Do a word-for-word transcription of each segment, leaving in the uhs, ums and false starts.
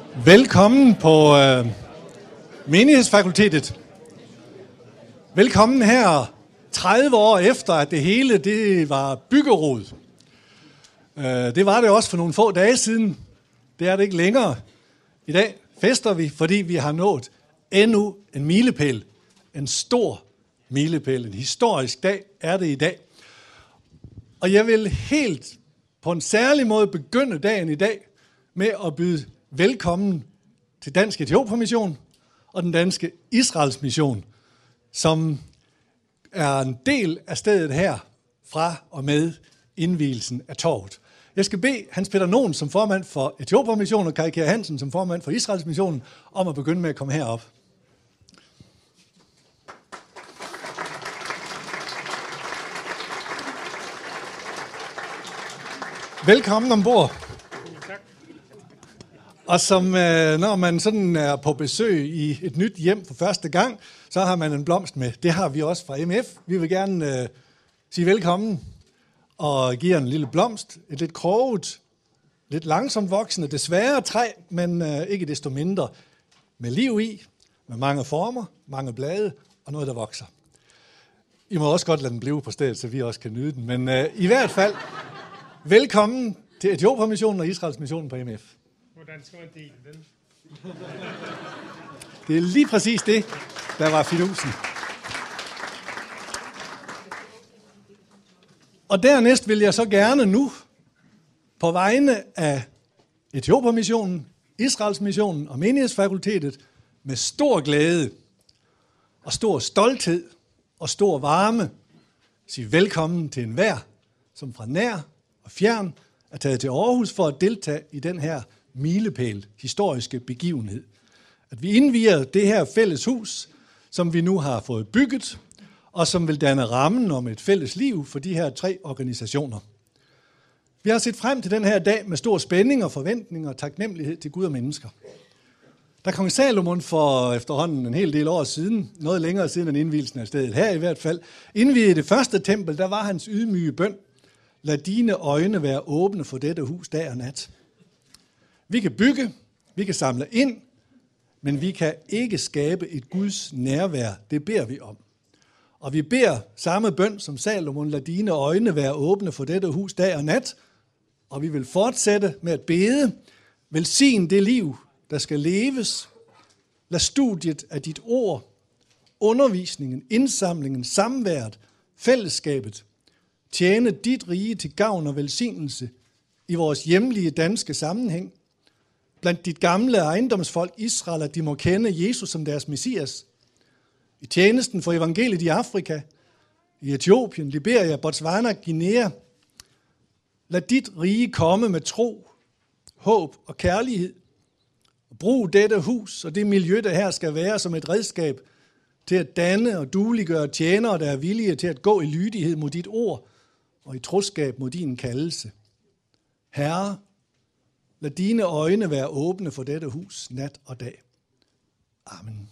Velkommen på øh, menighedsfakultetet. Velkommen her tredive år efter, at det hele det var byggerod. Øh, det var det også for nogle få dage siden. Det er det ikke længere. I dag fester vi, fordi vi har nået endnu en milepæl. En stor milepæl. En historisk dag er det i dag. Og jeg vil helt på en særlig måde begynde dagen i dag med at byde velkommen til Dansk Etiopien-mission og den danske Israels mission, som er en del af stedet her fra og med indvielsen af torvet. Jeg skal bede Hans Peter Nogen som formand for Etiopien-missionen og Kai Kjær Hansen som formand for Israels mission om at begynde med at komme herop. Velkommen ombord. Og som når man sådan er på besøg i et nyt hjem for første gang, så har man en blomst med. Det har vi også fra M F. Vi vil gerne uh, sige velkommen og give en lille blomst. Et lidt kroget, lidt langsomt voksende, desværre træ, men uh, ikke desto mindre med liv i, med mange former, mange blade og noget, der vokser. I må også godt lade den blive på stedet, så vi også kan nyde den. Men uh, i hvert fald, velkommen til Etiopien-missionen og Israels missionen på M F. Hvordan skal man dele den? Det er lige præcis det, der var fidusen. Og dernæst vil jeg så gerne nu, på vegne af Etiopien-missionen, Israels missionen og menighedsfakultetet, med stor glæde og stor stolthed og stor varme, sige velkommen til enhver, som fra nær og fjern er taget til Aarhus for at deltage i den her milepæl, historiske begivenhed. At vi indvier det her fælles hus, som vi nu har fået bygget, og som vil danne rammen om et fælles liv for de her tre organisationer. Vi har set frem til den her dag med stor spænding og forventning og taknemmelighed til Gud og mennesker. Da kong Salomon for efterhånden en hel del år siden, noget længere siden end indvielsen af stedet her i hvert fald, indviede det første tempel, der var hans ydmyge bøn: lad dine øjne være åbne for dette hus dag og nat. Vi kan bygge, vi kan samle ind, men vi kan ikke skabe et Guds nærvær. Det beder vi om. Og vi beder samme bøn som Salomon: lad dine øjne være åbne for dette hus dag og nat. Og vi vil fortsætte med at bede: velsign det liv, der skal leves. Lad studiet af dit ord, undervisningen, indsamlingen, samværet, fællesskabet tjene dit rige til gavn og velsignelse i vores hjemlige danske sammenhæng. Blandt dit gamle ejendomsfolk Israel, at de må kende Jesus som deres Messias. I tjenesten for evangeliet i Afrika, i Etiopien, Liberia, Botswana, Guinea. Lad dit rige komme med tro, håb og kærlighed. Brug dette hus og det miljø, der her skal være, som et redskab til at danne og dueliggøre tjenere, der er villige til at gå i lydighed mod dit ord og i troskab mod din kaldelse. Herre, lad dine øjne være åbne for dette hus nat og dag. Amen.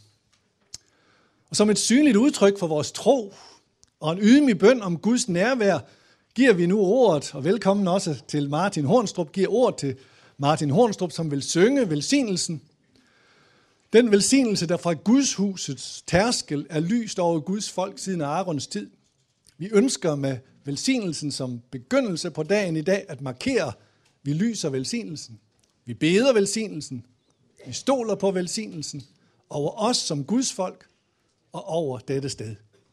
Og som et synligt udtryk for vores tro og en ydmyg bøn om Guds nærvær, giver vi nu ordet, og velkommen også til Martin Hornstrup, giver ord til Martin Hornstrup, som vil synge velsignelsen. Den velsignelse, der fra Guds husets tærskel er lyst over Guds folk siden Aarons tid. Vi ønsker med velsignelsen som begyndelse på dagen i dag at markere: vi lyser velsignelsen, vi beder velsignelsen, vi stoler på velsignelsen over os som Guds folk og over dette sted.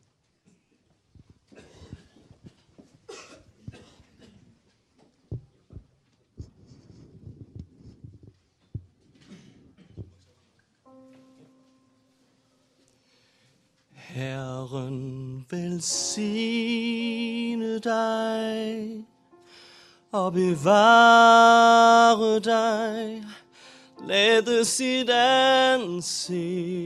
Herren velsigne dig og bevare dig, lade sit ansigt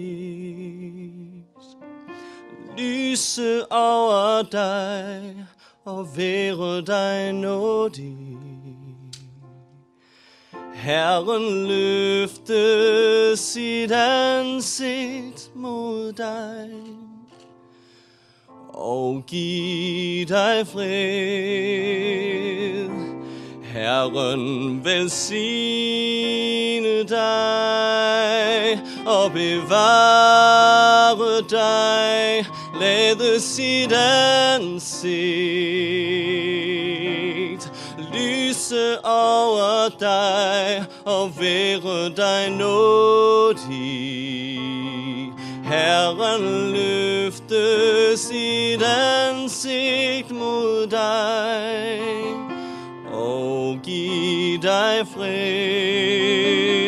lyse over dig og være dig nådig. Herren løfte sit ansigt mod dig og giv dig fred. Herren velsigne dig. dig og bevare dig. Lade sit ansigt lyse over dig og være dig nådig. Herren løfte sit ansigt mod dig og giv dig fred.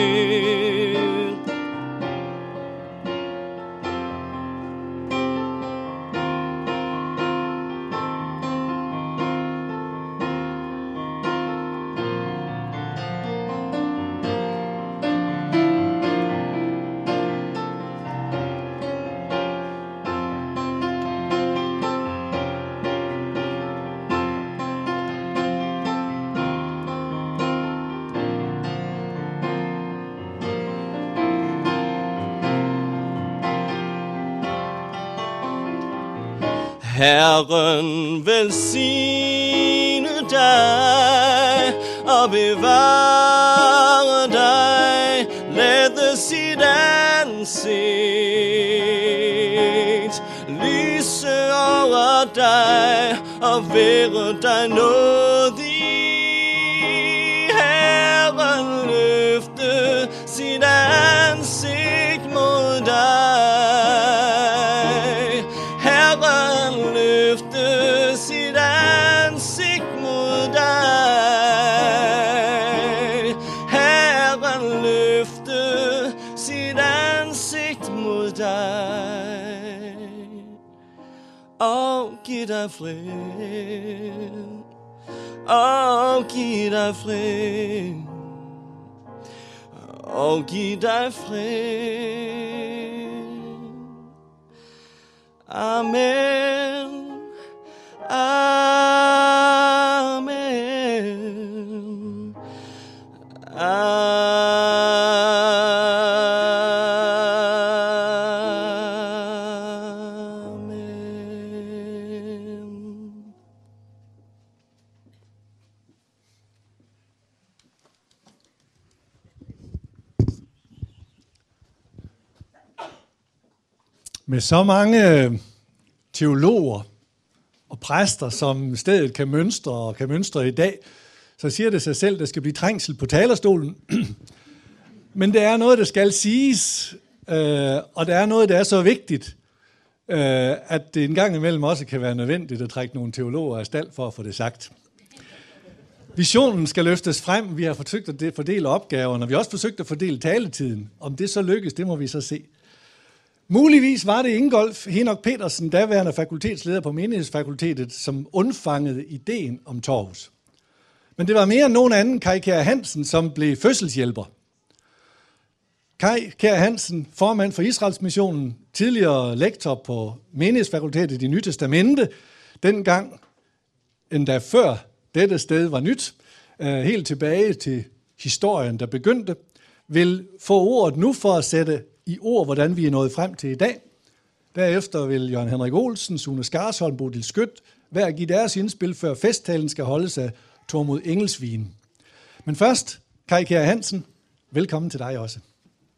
Herren velsigne dig og bevare dig. Lade sit ansigt lyse over dig og være dig nådig. Herren løfte sit ansigt mod dig. Herren løfte sit ansigt mod dig. Herren løfte sit ansigt mod dig og giv dig fred. Og giv dig fred. Og giv dig fred. Amen. Amen. Amen. Med så mange teologer og præster, som stedet kan mønstre og kan mønstre i dag, så siger det sig selv, at der skal blive trængsel på talerstolen. Men det er noget, der skal siges, øh, og det er noget, der er så vigtigt, øh, at det en gang imellem også kan være nødvendigt at trække nogle teologer af stald for at få det sagt. Visionen skal løftes frem. Vi har forsøgt at fordele opgaverne, og vi har også forsøgt at fordele taletiden. Om det så lykkes, det må vi så se. Muligvis var det Ingolf Henok Petersen, daværende fakultetsleder på Menighedsfakultetet, som undfangede ideen om torvhus. Men det var mere end nogen anden, Kai Kjær Hansen, som blev fødselshjælper. Kai Kjær Hansen, formand for Israelsmissionen, tidligere lektor på Menighedsfakultetet i Nyt Testamente, dengang endda før dette sted var nyt, helt tilbage til historien, der begyndte, vil få ordet nu for at sætte i ord, hvordan vi er nået frem til i dag. Derefter vil Jørgen Henrik Olsen, Sune Skarsholm, Bodil Skødt hver give deres indspil, før festtalen skal holdes af Tormod Engelsvien. Men først, Kai Kjær Hansen, velkommen til dig også.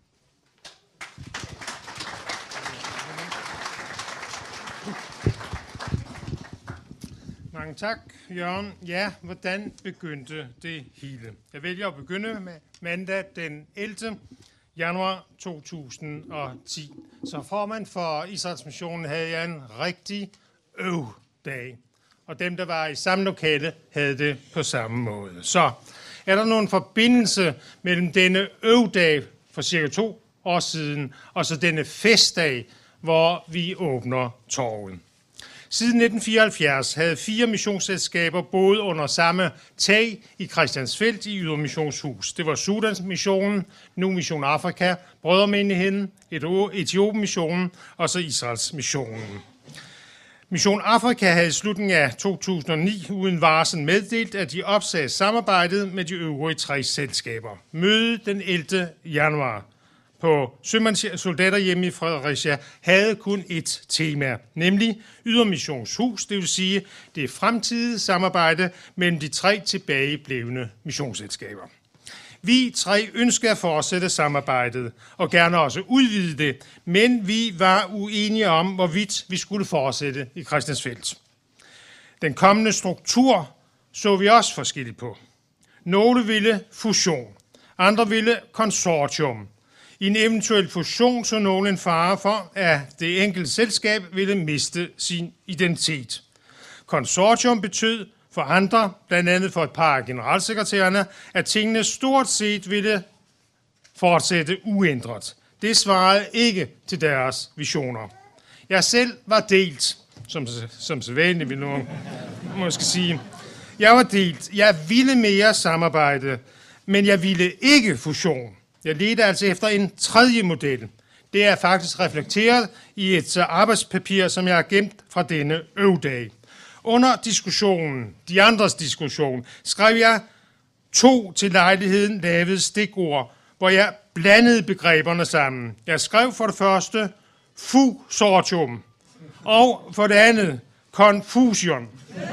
Mange tak, Jørgen. Ja, hvordan begyndte det hele? Jeg vælger at begynde med mandag den ellevte januar to tusind og ti. Som formand for Israelsmissionen havde jeg en rigtig øv-dag. Og dem, der var i samme lokale, havde det på samme måde. Så er der nogen forbindelse mellem denne øv-dag for cirka to år siden, og så denne festdag, hvor vi åbner torvet? Siden nitten fireoghalvfjerds havde fire missionsselskaber boet under samme tag i Christiansfeld i Ydre Missionshus. Det var Sudans Missionen, nu Mission Afrika, Brødremenigheden, Etiopien Missionen og så Israels Missionen. Mission Afrika havde i slutningen af to tusind og ni uden varsel meddelt, at de opsagde samarbejdet med de øvrige tre selskaber. Mødet den ellevte januar på Sømandssoldaterhjemme i Fredericia havde kun ét tema, nemlig Ydre Missionshus, det vil sige det fremtidige samarbejde mellem de tre tilbageblevne missionsselskaber. Vi tre ønskede at fortsætte samarbejdet, og gerne også udvide det, men vi var uenige om, hvorvidt vi skulle fortsætte i Christiansfeld. Den kommende struktur så vi også forskelligt på. Nogle ville fusion, andre ville konsortium. I en eventuel fusion så nogle en fare for, at det enkelte selskab ville miste sin identitet. Konsortium betød for andre, blandt andet for et par af generalsekretærerne, at tingene stort set ville fortsætte uændret. Det svarede ikke til deres visioner. Jeg selv var delt, som, som sædvanligt vil nogen måske sige. Jeg var delt. Jeg ville mere samarbejde, men jeg ville ikke fusion. Jeg ledte altså efter en tredje model. Det er faktisk reflekteret i et arbejdspapir, som jeg har gemt fra denne øvdag. Under diskussionen, de andres diskussion, skrev jeg to til lejligheden lavede stikord, hvor jeg blandede begreberne sammen. Jeg skrev for det første fusortium, og for det andet confusion.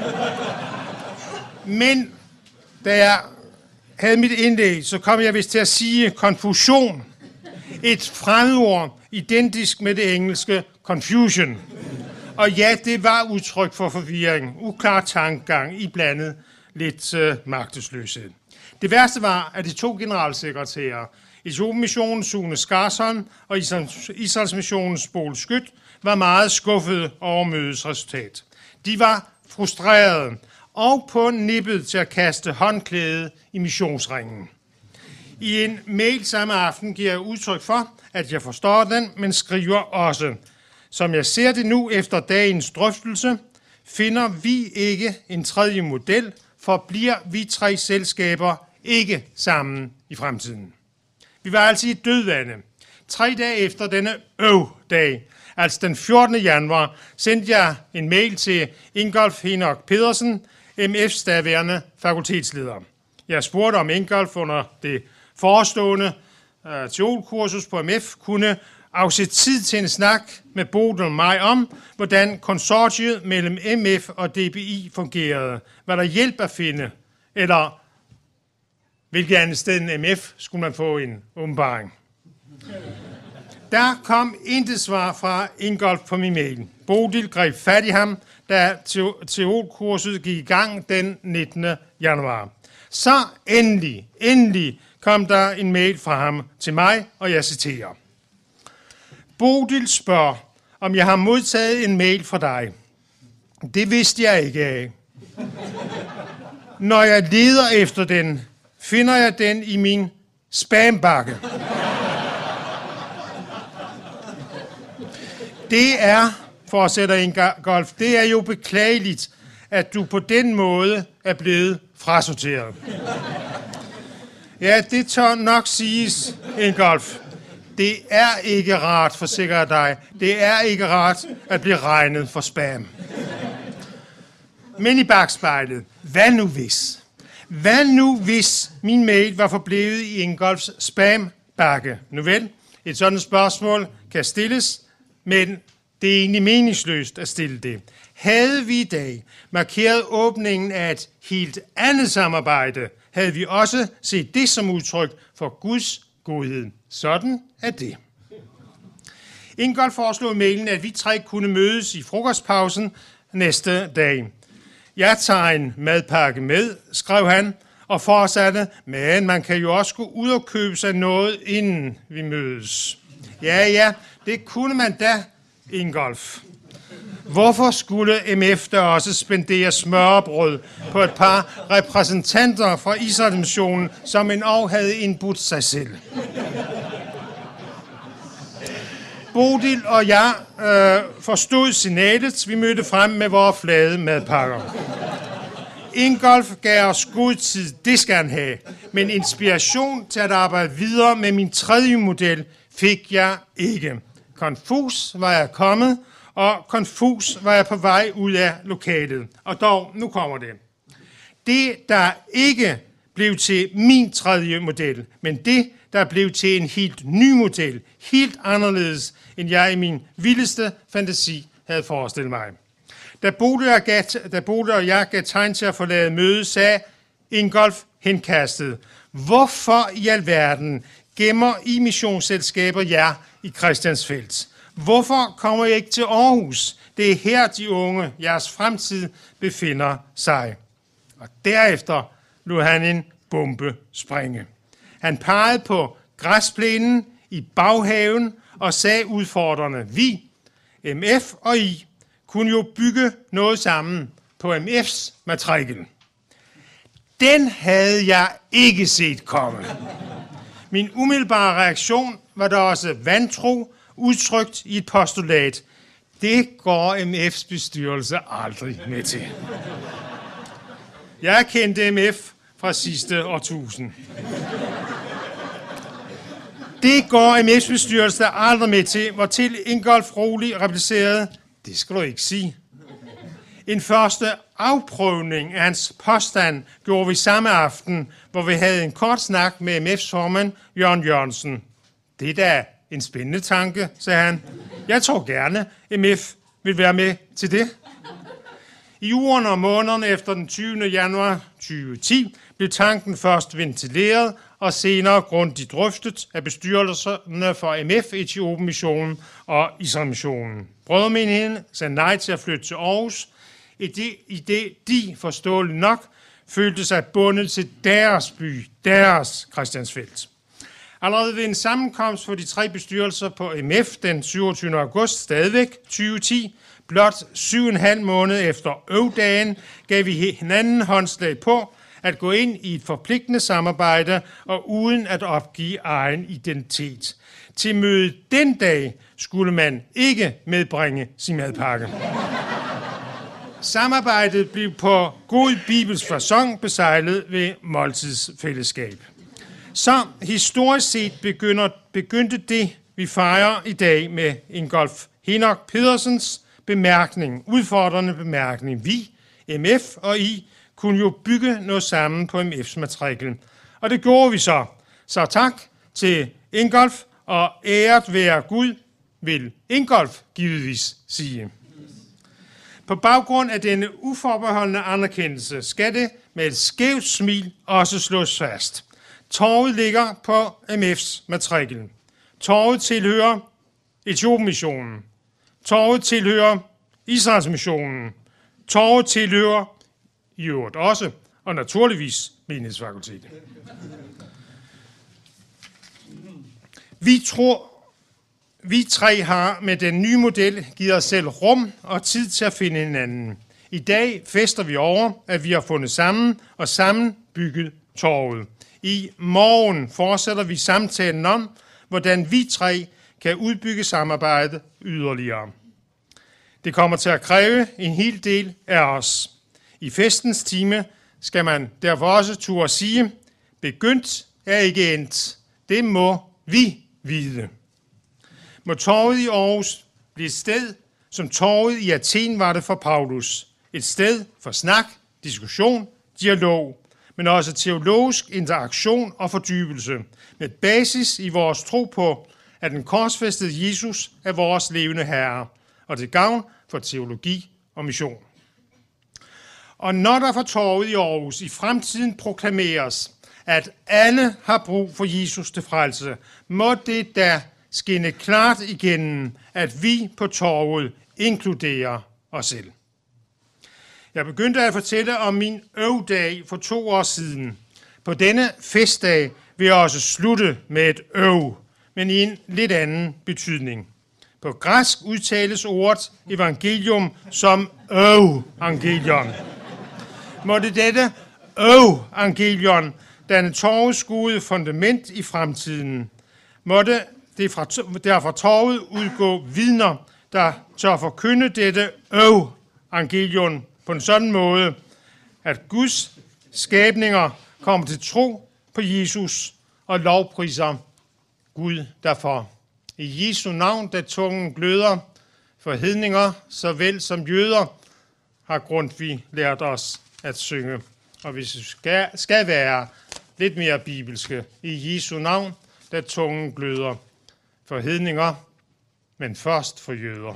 Men da jeg havde mit indlæg, så kom jeg vist til at sige konfusion. Et fremmedord identisk med det engelske confusion. Og ja, det var udtryk for forvirring, uklar tankegang, iblandet lidt øh, magtesløshed. Det værste var, at de to generalsekretærer, Etiopien-missionens Sune Skarsholm og Israels-missionens Boel Skyt, var meget skuffede over mødets resultat. De var frustrerede og på nippet til at kaste håndklædet i missionsringen. I en mail samme aften giver jeg udtryk for, at jeg forstår den, men skriver også: som jeg ser det nu efter dagens drøftelse, finder vi ikke en tredje model, for bliver vi tre selskaber ikke sammen i fremtiden. Vi var altså i dødvande. Tre dage efter denne øv-dag, altså den fjortende januar, sendte jeg en mail til Ingolf Henok Pedersen, M F's daværende fakultetsleder. Jeg spurgte, om Ingolf under det forestående uh, teolkursus på M F kunne afsætte tid til en snak med Bodil og mig om, hvordan konsortiet mellem M F og D B I fungerede. Var der hjælp at finde, eller hvilket andet sted end M F skulle man få en åbenbaring. Der kom intet svar fra Ingolf på min mail. Bodil greb fat i ham, da teolkurset gik i gang den nittende januar. Så endelig, endelig kom der en mail fra ham til mig, og jeg citerer: Bodil spørger, om jeg har modtaget en mail fra dig. Det vidste jeg ikke af. Når jeg leder efter den, finder jeg den i min spambakke. Det er, fortsætter Ingolf, det er jo beklageligt, at du på den måde er blevet frasorteret. Ja, det tør nok siges, Ingolf. Det er ikke rart, forsikrer jeg dig. Det er ikke rart at blive regnet for spam. Men i bagspejlet, hvad nu hvis? Hvad nu hvis min mail var forblevet i Ingolfs spambakke? Nu vel, et sådan spørgsmål kan stilles, men det er egentlig meningsløst at stille det. Havde vi i dag markeret åbningen af et helt andet samarbejde, havde vi også set det som udtryk for Guds godhed. Sådan er det. Ingolf foreslog i mailen, at vi tre kunne mødes i frokostpausen næste dag. Jeg tager en madpakke med, skrev han, og fortsatte, men man kan jo også gå ud og købe sig noget, inden vi mødes. Ja, ja, det kunne man da, Ingolf. Hvorfor skulle M F da også spendere smørrebrød på et par repræsentanter fra Israels-missionen, som endog havde indbudt sig selv? Bodil og jeg øh, forstod signalet. Vi mødte frem med vores flade madpakker. Ingolf gav os god tid, det skal han have. Men inspiration til at arbejde videre med min tredje model fik jeg ikke. Konfus var jeg kommet, og konfus var jeg på vej ud af lokalet. Og dog, nu kommer det. Det, der ikke blev til min tredje model, men det, der blev til en helt ny model, helt anderledes, end jeg i min vildeste fantasi havde forestillet mig. Da Bodil og, da Bodil og jeg gav tegn til at forlade mødet, sagde Ingolf henkastet: Hvorfor i alverden gemmer I missionsselskaber jer i Christiansfeld? Hvorfor kommer I ikke til Aarhus? Det er her, de unge, jeres fremtid, befinder sig. Og derefter lod han en bombe springe. Han pegede på græsplænen i baghaven og sagde udfordrende, vi, M F og I, kunne jo bygge noget sammen på M F's matrikel. Den havde jeg ikke set komme. Min umiddelbare reaktion var da også vantro, udtrykt i et postulat. Det går M F's bestyrelse aldrig med til. Jeg kendte M F fra sidste årtusind. Det går M F's bestyrelse aldrig med til, hvor til Ingolf rolig replicerede, det skal du ikke sige. En første afprøvning af hans påstand gjorde vi samme aften, hvor vi havde en kort snak med M F's formand, Jørgen Jørgensen. Det er da en spændende tanke, sagde han. Jeg tror gerne, M F vil være med til det. I ugerne og månederne efter den tyvende januar tyve ti blev tanken først ventileret og senere grundigt drøftet af bestyrelserne for M F, Etiopien-missionen og Israel-missionen. Brødremenigheden sagde nej til at flytte til Aarhus, i det, i det de, forståeligt nok, følte sig bundet til deres by, deres Christiansfeld. Allerede ved en sammenkomst for de tre bestyrelser på M F den syvogtyvende august stadigvæk tyve ti, blot syv og en halv måned efter øvdagen, gav vi hinanden håndslag på at gå ind i et forpligtende samarbejde og uden at opgive egen identitet. Til mødet den dag skulle man ikke medbringe sin madpakke. Samarbejdet blev på god bibelsk facon besejlet ved måltidsfællesskab. Så historisk set begynder, begyndte det, vi fejrer i dag med Ingolf Henok Pedersens bemærkning, udfordrende bemærkning. Vi, M F og I, kunne jo bygge noget sammen på M F's matrikel. Og det gjorde vi så. Så tak til Ingolf, og æret være Gud, vil Ingolf givetvis sige. På baggrund af denne uforbeholdende anerkendelse skal det med et skævt smil også slås fast. Torvet ligger på M F's matrikel. Torvet tilhører Etiopien-missionen. Torvet tilhører Israels-missionen. Torvet tilhører i øvrigt også, og naturligvis menighedsfakultetet. Vi tror, vi tre har med den nye model givet os selv rum og tid til at finde hinanden. I dag fester vi over, at vi har fundet sammen og sammen bygget torvet. I morgen fortsætter vi samtalen om, hvordan vi tre kan udbygge samarbejdet yderligere. Det kommer til at kræve en hel del af os. I festens time skal man derfor også turde sige, begyndt er ikke endt. Det må vi vide. Må torvet i Aarhus blive et sted, som torvet i Athen var det for Paulus. Et sted for snak, diskussion, dialog, men også teologisk interaktion og fordybelse, med basis i vores tro på, at den korsfæstede Jesus er vores levende herre, og til gavn for teologi og mission. Og når der for torvet i Aarhus i fremtiden proklameres, at alle har brug for Jesus til frelse, må det da skinne klart igennem, at vi på torvet inkluderer os selv. Jeg begyndte at fortælle om min øvdag for to år siden. På denne festdag vil jeg også slutte med et øv, men i en lidt anden betydning. På græsk udtales ordet evangelium som øv-angelion. Måtte dette øv-angelion danne torvets gode fundament i fremtiden. Måtte det fra, der fra torvet udgå vidner, der tør forkynde dette øv-angelion på en sådan måde, at Guds skabninger kommer til tro på Jesus og lovpriser Gud derfor. I Jesu navn, da tungen gløder for hedninger, såvel som jøder, har Grundtvig lært os at synge. Og hvis vi skal, skal være lidt mere bibelske, i Jesu navn, da tungen gløder for hedninger, men først for jøder.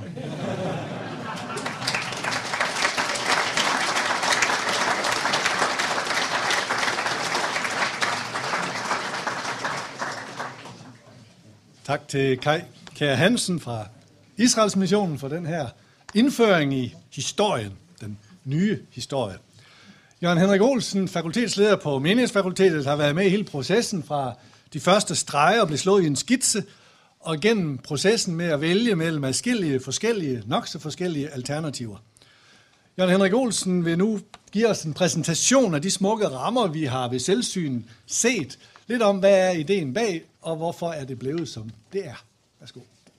Tak til Kai Kjær Hansen fra Israels Missionen for den her indføring i historien, den nye historie. Jørgen Henrik Olsen, fakultetsleder på Menighedsfakultetet, har været med i hele processen fra de første streger blev slået i en skitse, og gennem processen med at vælge mellem adskillige forskellige, nok så forskellige alternativer. Jørgen Henrik Olsen vil nu give os en præsentation af de smukke rammer, vi har ved selvsyn set. Lidt om, hvad er ideen bag, og hvorfor er det blevet, som det er. Værsgo.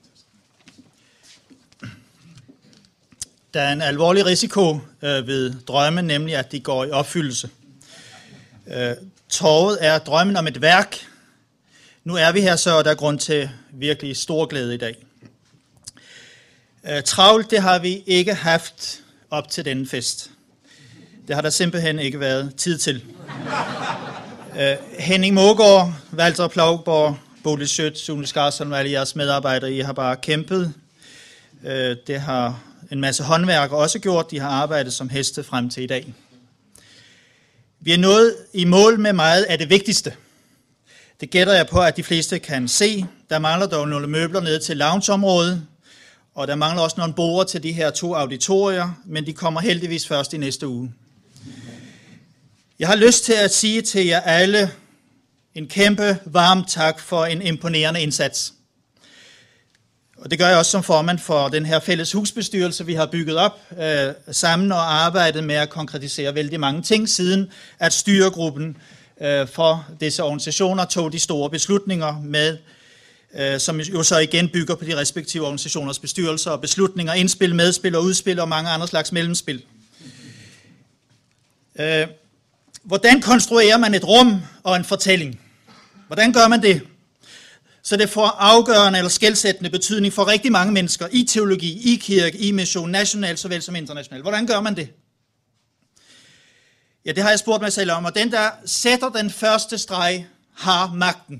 Der er en alvorlig risiko øh, ved drømme, nemlig at de går i opfyldelse. Øh, torvet er drømmen om et værk. Nu er vi her, så og der er grund til virkelig stor glæde i dag. Øh, travlt, det har vi ikke haft op til denne fest. Det har der simpelthen ikke været tid til. Øh, Henning Mågaard, Walter Plaugborg, Bodil Schødt, Sune Skarsholm og alle jeres medarbejdere, I har bare kæmpet. Øh, det har en masse håndværkere også gjort. De har arbejdet som heste frem til i dag. Vi er nået i mål med meget af det vigtigste. Det gætter jeg på, at de fleste kan se. Der mangler dog nogle møbler ned til loungeområdet, og der mangler også nogle borde til de her to auditorier, men de kommer heldigvis først i næste uge. Jeg har lyst til at sige til jer alle en kæmpe varm tak for en imponerende indsats. Og det gør jeg også som formand for den her fælles husbestyrelse, vi har bygget op øh, sammen og arbejdet med at konkretisere vældig mange ting, siden at styregruppen øh, for disse organisationer tog de store beslutninger med, øh, som jo så igen bygger på de respektive organisationers bestyrelser og beslutninger, indspil, medspil og udspil og mange andre slags mellemspil. Øh, hvordan konstruerer man et rum og en fortælling? Hvordan gør man det? Så det får afgørende eller skelsættende betydning for rigtig mange mennesker i teologi, i kirke, i mission, nationalt såvel som internationalt. Hvordan gør man det? Ja, det har jeg spurgt mig selv om, og den, der sætter den første streg, har magten.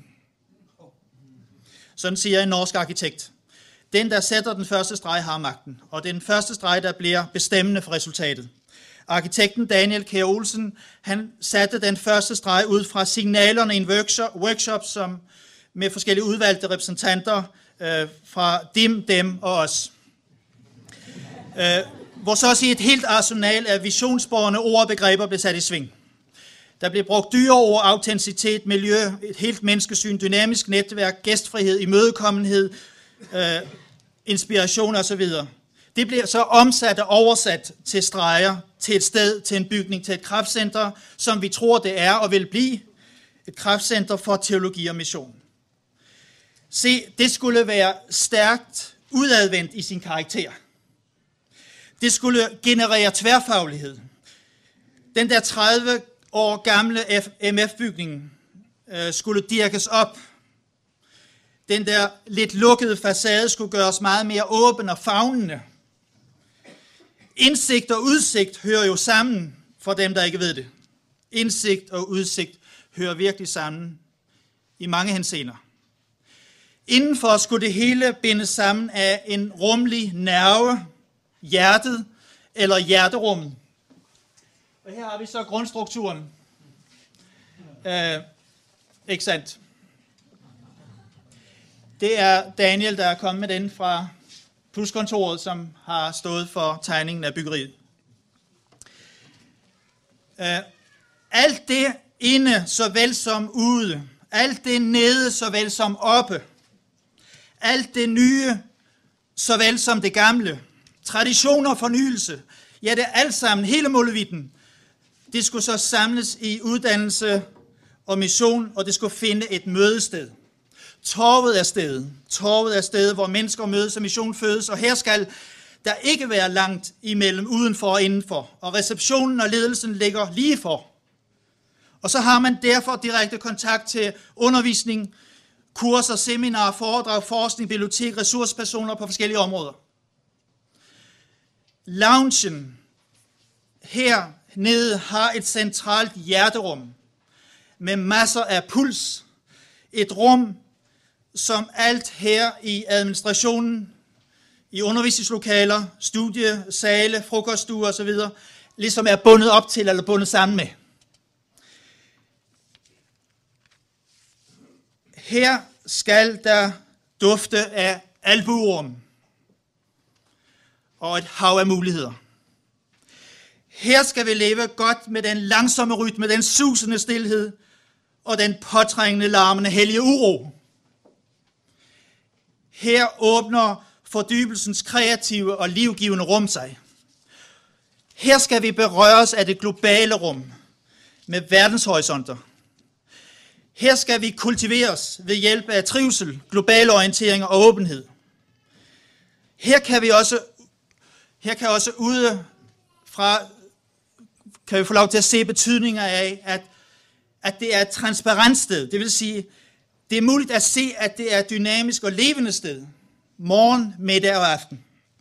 Sådan siger en norsk arkitekt. Den, der sætter den første streg, har magten, og det er den første streg, der bliver bestemmende for resultatet. Arkitekten Daniel Kjær Olsen, han satte den første streg ud fra signalerne i en workshop, workshop som med forskellige udvalgte repræsentanter øh, fra dem, dem og os. Øh, hvor så at sige et helt arsenal af visionsborgende ord og begreber blev sat i sving. Der blev brugt dyre ord, autenticitet, miljø, et helt menneskesyn, dynamisk netværk, gæstfrihed, imødekommenhed, øh, inspiration osv. Det bliver så omsat og oversat til streger, til et sted, til en bygning, til et kraftcenter, som vi tror det er og vil blive et kraftcenter for teologi og mission. Se, det skulle være stærkt udadvendt i sin karakter. Det skulle generere tværfaglighed. Den der tredive år gamle M F-bygning øh, skulle dirkes op. Den der lidt lukkede facade skulle gøres meget mere åben og favnende. Indsigt og udsigt hører jo sammen for dem, der ikke ved det. Indsigt og udsigt hører virkelig sammen i mange henseender. Indenfor skulle det hele bindes sammen af en rummelig nerve, hjertet eller hjerterummet. Og her har vi så grundstrukturen. Øh, ikke sandt? Det er Daniel, der er kommet med den fra Pluskontoret, som har stået for tegningen af byggeriet. Øh, alt det inde såvel som ude, alt det nede såvel som oppe, alt det nye, såvel som det gamle, tradition og fornyelse, ja, det er alt sammen, hele målevitten. Det skulle så samles i uddannelse og mission, og det skulle finde et mødested. Torvet er stedet. Torvet er stedet, hvor mennesker mødes og mission fødes, og her skal der ikke være langt imellem udenfor og indenfor. Og receptionen og ledelsen ligger lige for. Og så har man derfor direkte kontakt til undervisning, kurser, seminarer, foredrag, forskning, bibliotek, ressourcepersoner på forskellige områder. Loungen her nede har et centralt hjerterum med masser af puls. Et rum, som alt her i administrationen, i undervisningslokaler, studiesale, frokoststuer osv., ligesom er bundet op til eller bundet sammen med. Her skal der dufte af albuerum og et hav af muligheder. Her skal vi leve godt med den langsomme rytme, den susende stilhed og den påtrængende, larmende, hellige uro. Her åbner fordybelsens kreative og livgivende rum sig. Her skal vi berøres af det globale rum med verdenshorisonter. Her skal vi kultiveres ved hjælp af trivsel, global orientering og åbenhed. Her kan vi også, her kan også ude fra, kan vi få lov til at se betydninger af, at, at det er et transparent sted. Det vil sige, det er muligt at se, at det er et dynamisk og levende sted. Morgen, middag og aften.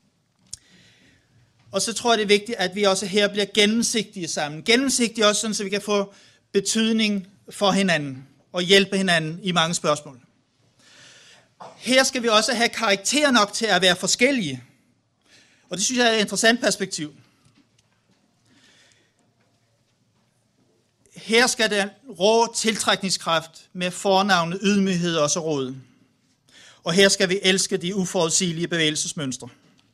Og så tror jeg, det er vigtigt, at vi også her bliver gennemsigtige sammen. Gennemsigtige også, sådan, så vi kan få betydning for hinanden og hjælpe hinanden i mange spørgsmål. Her skal vi også have karakter nok til at være forskellige. Og det synes jeg er et interessant perspektiv. Her skal den rå tiltrækningskraft med fornavnet ydmyghed også råde. Og her skal vi elske de uforudsigelige bevægelsesmønstre.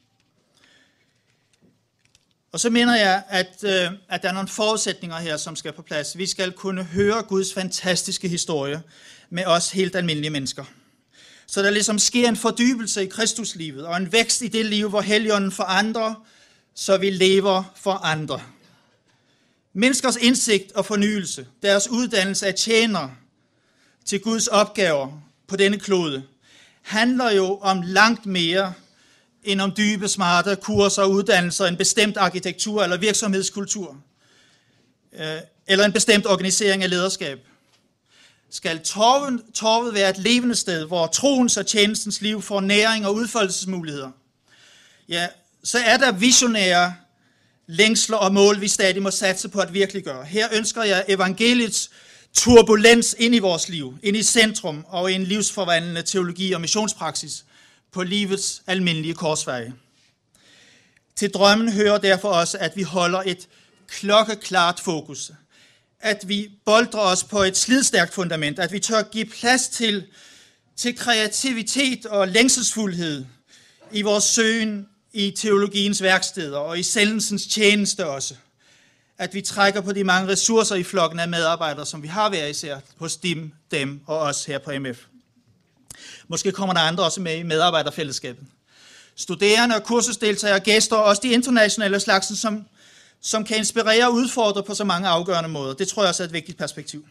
Og så mener jeg, at, øh, at der er nogle forudsætninger her, som skal på plads. Vi skal kunne høre Guds fantastiske historie med os helt almindelige mennesker. Så der ligesom sker en fordybelse i Kristuslivet og en vækst i det liv, hvor Helligånden forandrer, så vi lever for andre. Menneskers indsigt og fornyelse, deres uddannelse af tjenere til Guds opgaver på denne klode, handler jo om langt mere end om dybe, smarte kurser og uddannelser, en bestemt arkitektur eller virksomhedskultur, eller en bestemt organisering af lederskab. Skal torvet, torvet være et levende sted, hvor troens og tjenestens liv får næring og udfoldelsesmuligheder, ja, så er der visionære længsler og mål, vi stadig må satse på at virkeliggøre. Her ønsker jeg evangeliets turbulens ind i vores liv, ind i centrum og i en livsforvandlende teologi og missionspraksis på livets almindelige korsveje. Til drømmen hører derfor også, at vi holder et klokkeklart fokus. At vi boldrer os på et slidstærkt fundament. At vi tør give plads til, til kreativitet og længselsfuldhed i vores søgen i teologiens værksteder og i sendelsens tjeneste også. At vi trækker på de mange ressourcer i flokken af medarbejdere, som vi har hver især hos dem, dem og os her på M F. Måske kommer der andre også med i medarbejderfællesskabet. Studerende og kursusdeltagere, gæster og også de internationale slagsen, som, som kan inspirere og udfordre på så mange afgørende måder. Det tror jeg også er et vigtigt perspektiv.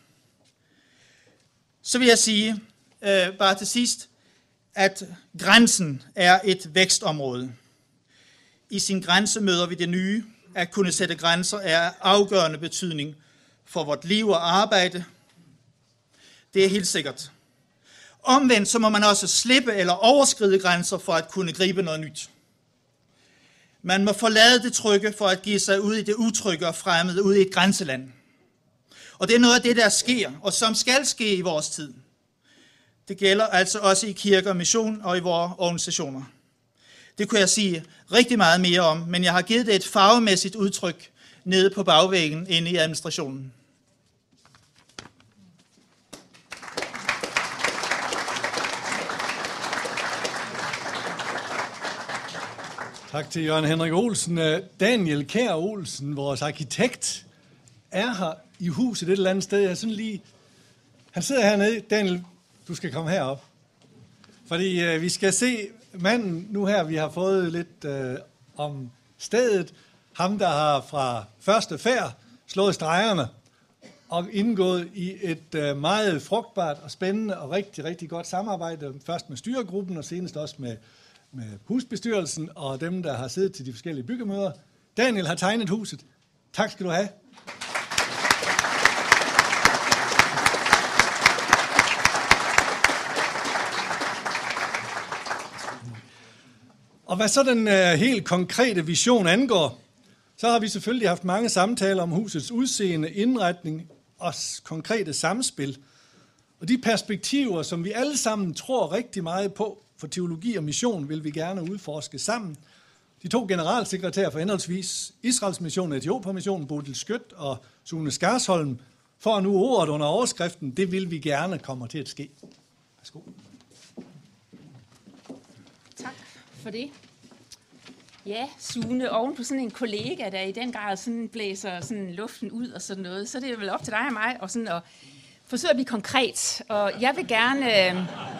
Så vil jeg sige, øh, bare til sidst, at grænsen er et vækstområde. I sin grænse møder vi det nye. At kunne sætte grænser er af afgørende betydning for vort liv og arbejde. Det er helt sikkert. Omvendt så må man også slippe eller overskride grænser for at kunne gribe noget nyt. Man må forlade det trygge for at give sig ud i det utrygge og fremmede, ud i et grænseland. Og det er noget af det, der sker, og som skal ske i vores tid. Det gælder altså også i kirke og mission og i vores organisationer. Det kunne jeg sige rigtig meget mere om, men jeg har givet det et farvemæssigt udtryk nede på bagvæggen inde i administrationen. Tak til Jørgen Henrik Olsen. Daniel Kjær Olsen, vores arkitekt, er her i huset et eller andet sted. Jeg sådan lige... Han sidder hernede. Daniel, du skal komme herop. Fordi øh, vi skal se manden nu her, vi har fået lidt øh, om stedet. Ham, der har fra første færd slået stregerne og indgået i et øh, meget frugtbart og spændende og rigtig, rigtig godt samarbejde. Først med styregruppen og senest også med, med husbestyrelsen og dem, der har siddet til de forskellige byggemøder. Daniel har tegnet huset. Tak skal du have. Og hvad så den øh, helt konkrete vision angår, så har vi selvfølgelig haft mange samtaler om husets udseende, indretning og konkrete samspil. Og de perspektiver, som vi alle sammen tror rigtig meget på for teologi og mission, vil vi gerne udforske sammen. De to generalsekretærer for henholdsvis Israels mission og Etiopien-missionen, Bodil Skødt og Sune Skarsholm, får nu ordet under overskriften, det vil vi gerne kommer til at ske. Værsgo. for det. Ja, Sune, oven på sådan en kollega, der i den grad sådan blæser sådan luften ud og sådan noget, så er det vel op til dig og mig og sådan at forsøge at blive konkret. Og jeg vil gerne, øh,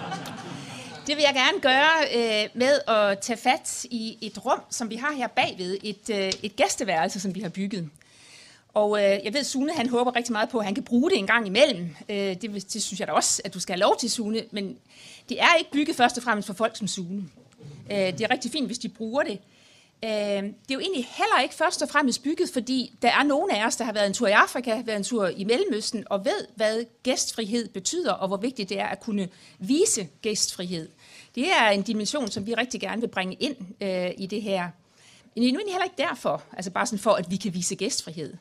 det vil jeg gerne gøre øh, med at tage fat i et rum, som vi har her bagved, et, øh, et gæsteværelse, som vi har bygget. Og øh, jeg ved, Sune, han håber rigtig meget på, at han kan bruge det en gang imellem. Øh, det, det synes jeg da også, at du skal have lov til, Sune. Men det er ikke bygget først og fremmest for folk som Sune. Øh, det er rigtig fint, hvis de bruger det. Øh, det er jo egentlig heller ikke først og fremmest bygget, fordi der er nogle af os, der har været en tur i Afrika, været en tur i Mellemøsten, og ved, hvad gæstfrihed betyder, og hvor vigtigt det er at kunne vise gæstfrihed. Det er en dimension, som vi rigtig gerne vil bringe ind øh, i det her. Men det er nu egentlig heller ikke derfor, altså bare sådan for, at vi kan vise gæstfrihed.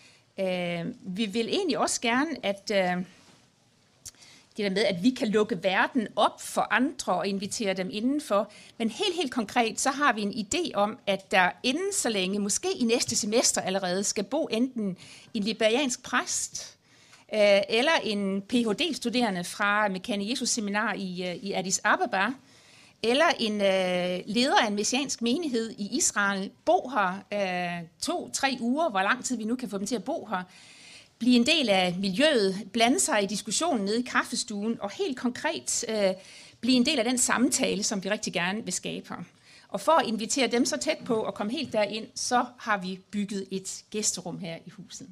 Øh, vi vil egentlig også gerne, at øh, det der med, at vi kan lukke verden op for andre og invitere dem indenfor. Men helt, helt konkret, så har vi en idé om, at der inden så længe, måske i næste semester allerede, skal bo enten en liberiansk præst, øh, eller en P H D-studerende fra Mekane Jesus Seminar i, øh, i Addis Ababa, eller en øh, leder af en messiansk menighed i Israel, bo her øh, to, tre uger, hvor lang tid vi nu kan få dem til at bo her, blive en del af miljøet, blande sig i diskussionen nede i kaffestuen, og helt konkret øh, blive en del af den samtale, som vi rigtig gerne vil skabe her. Og for at invitere dem så tæt på og komme helt derind, så har vi bygget et gæsterum her i huset.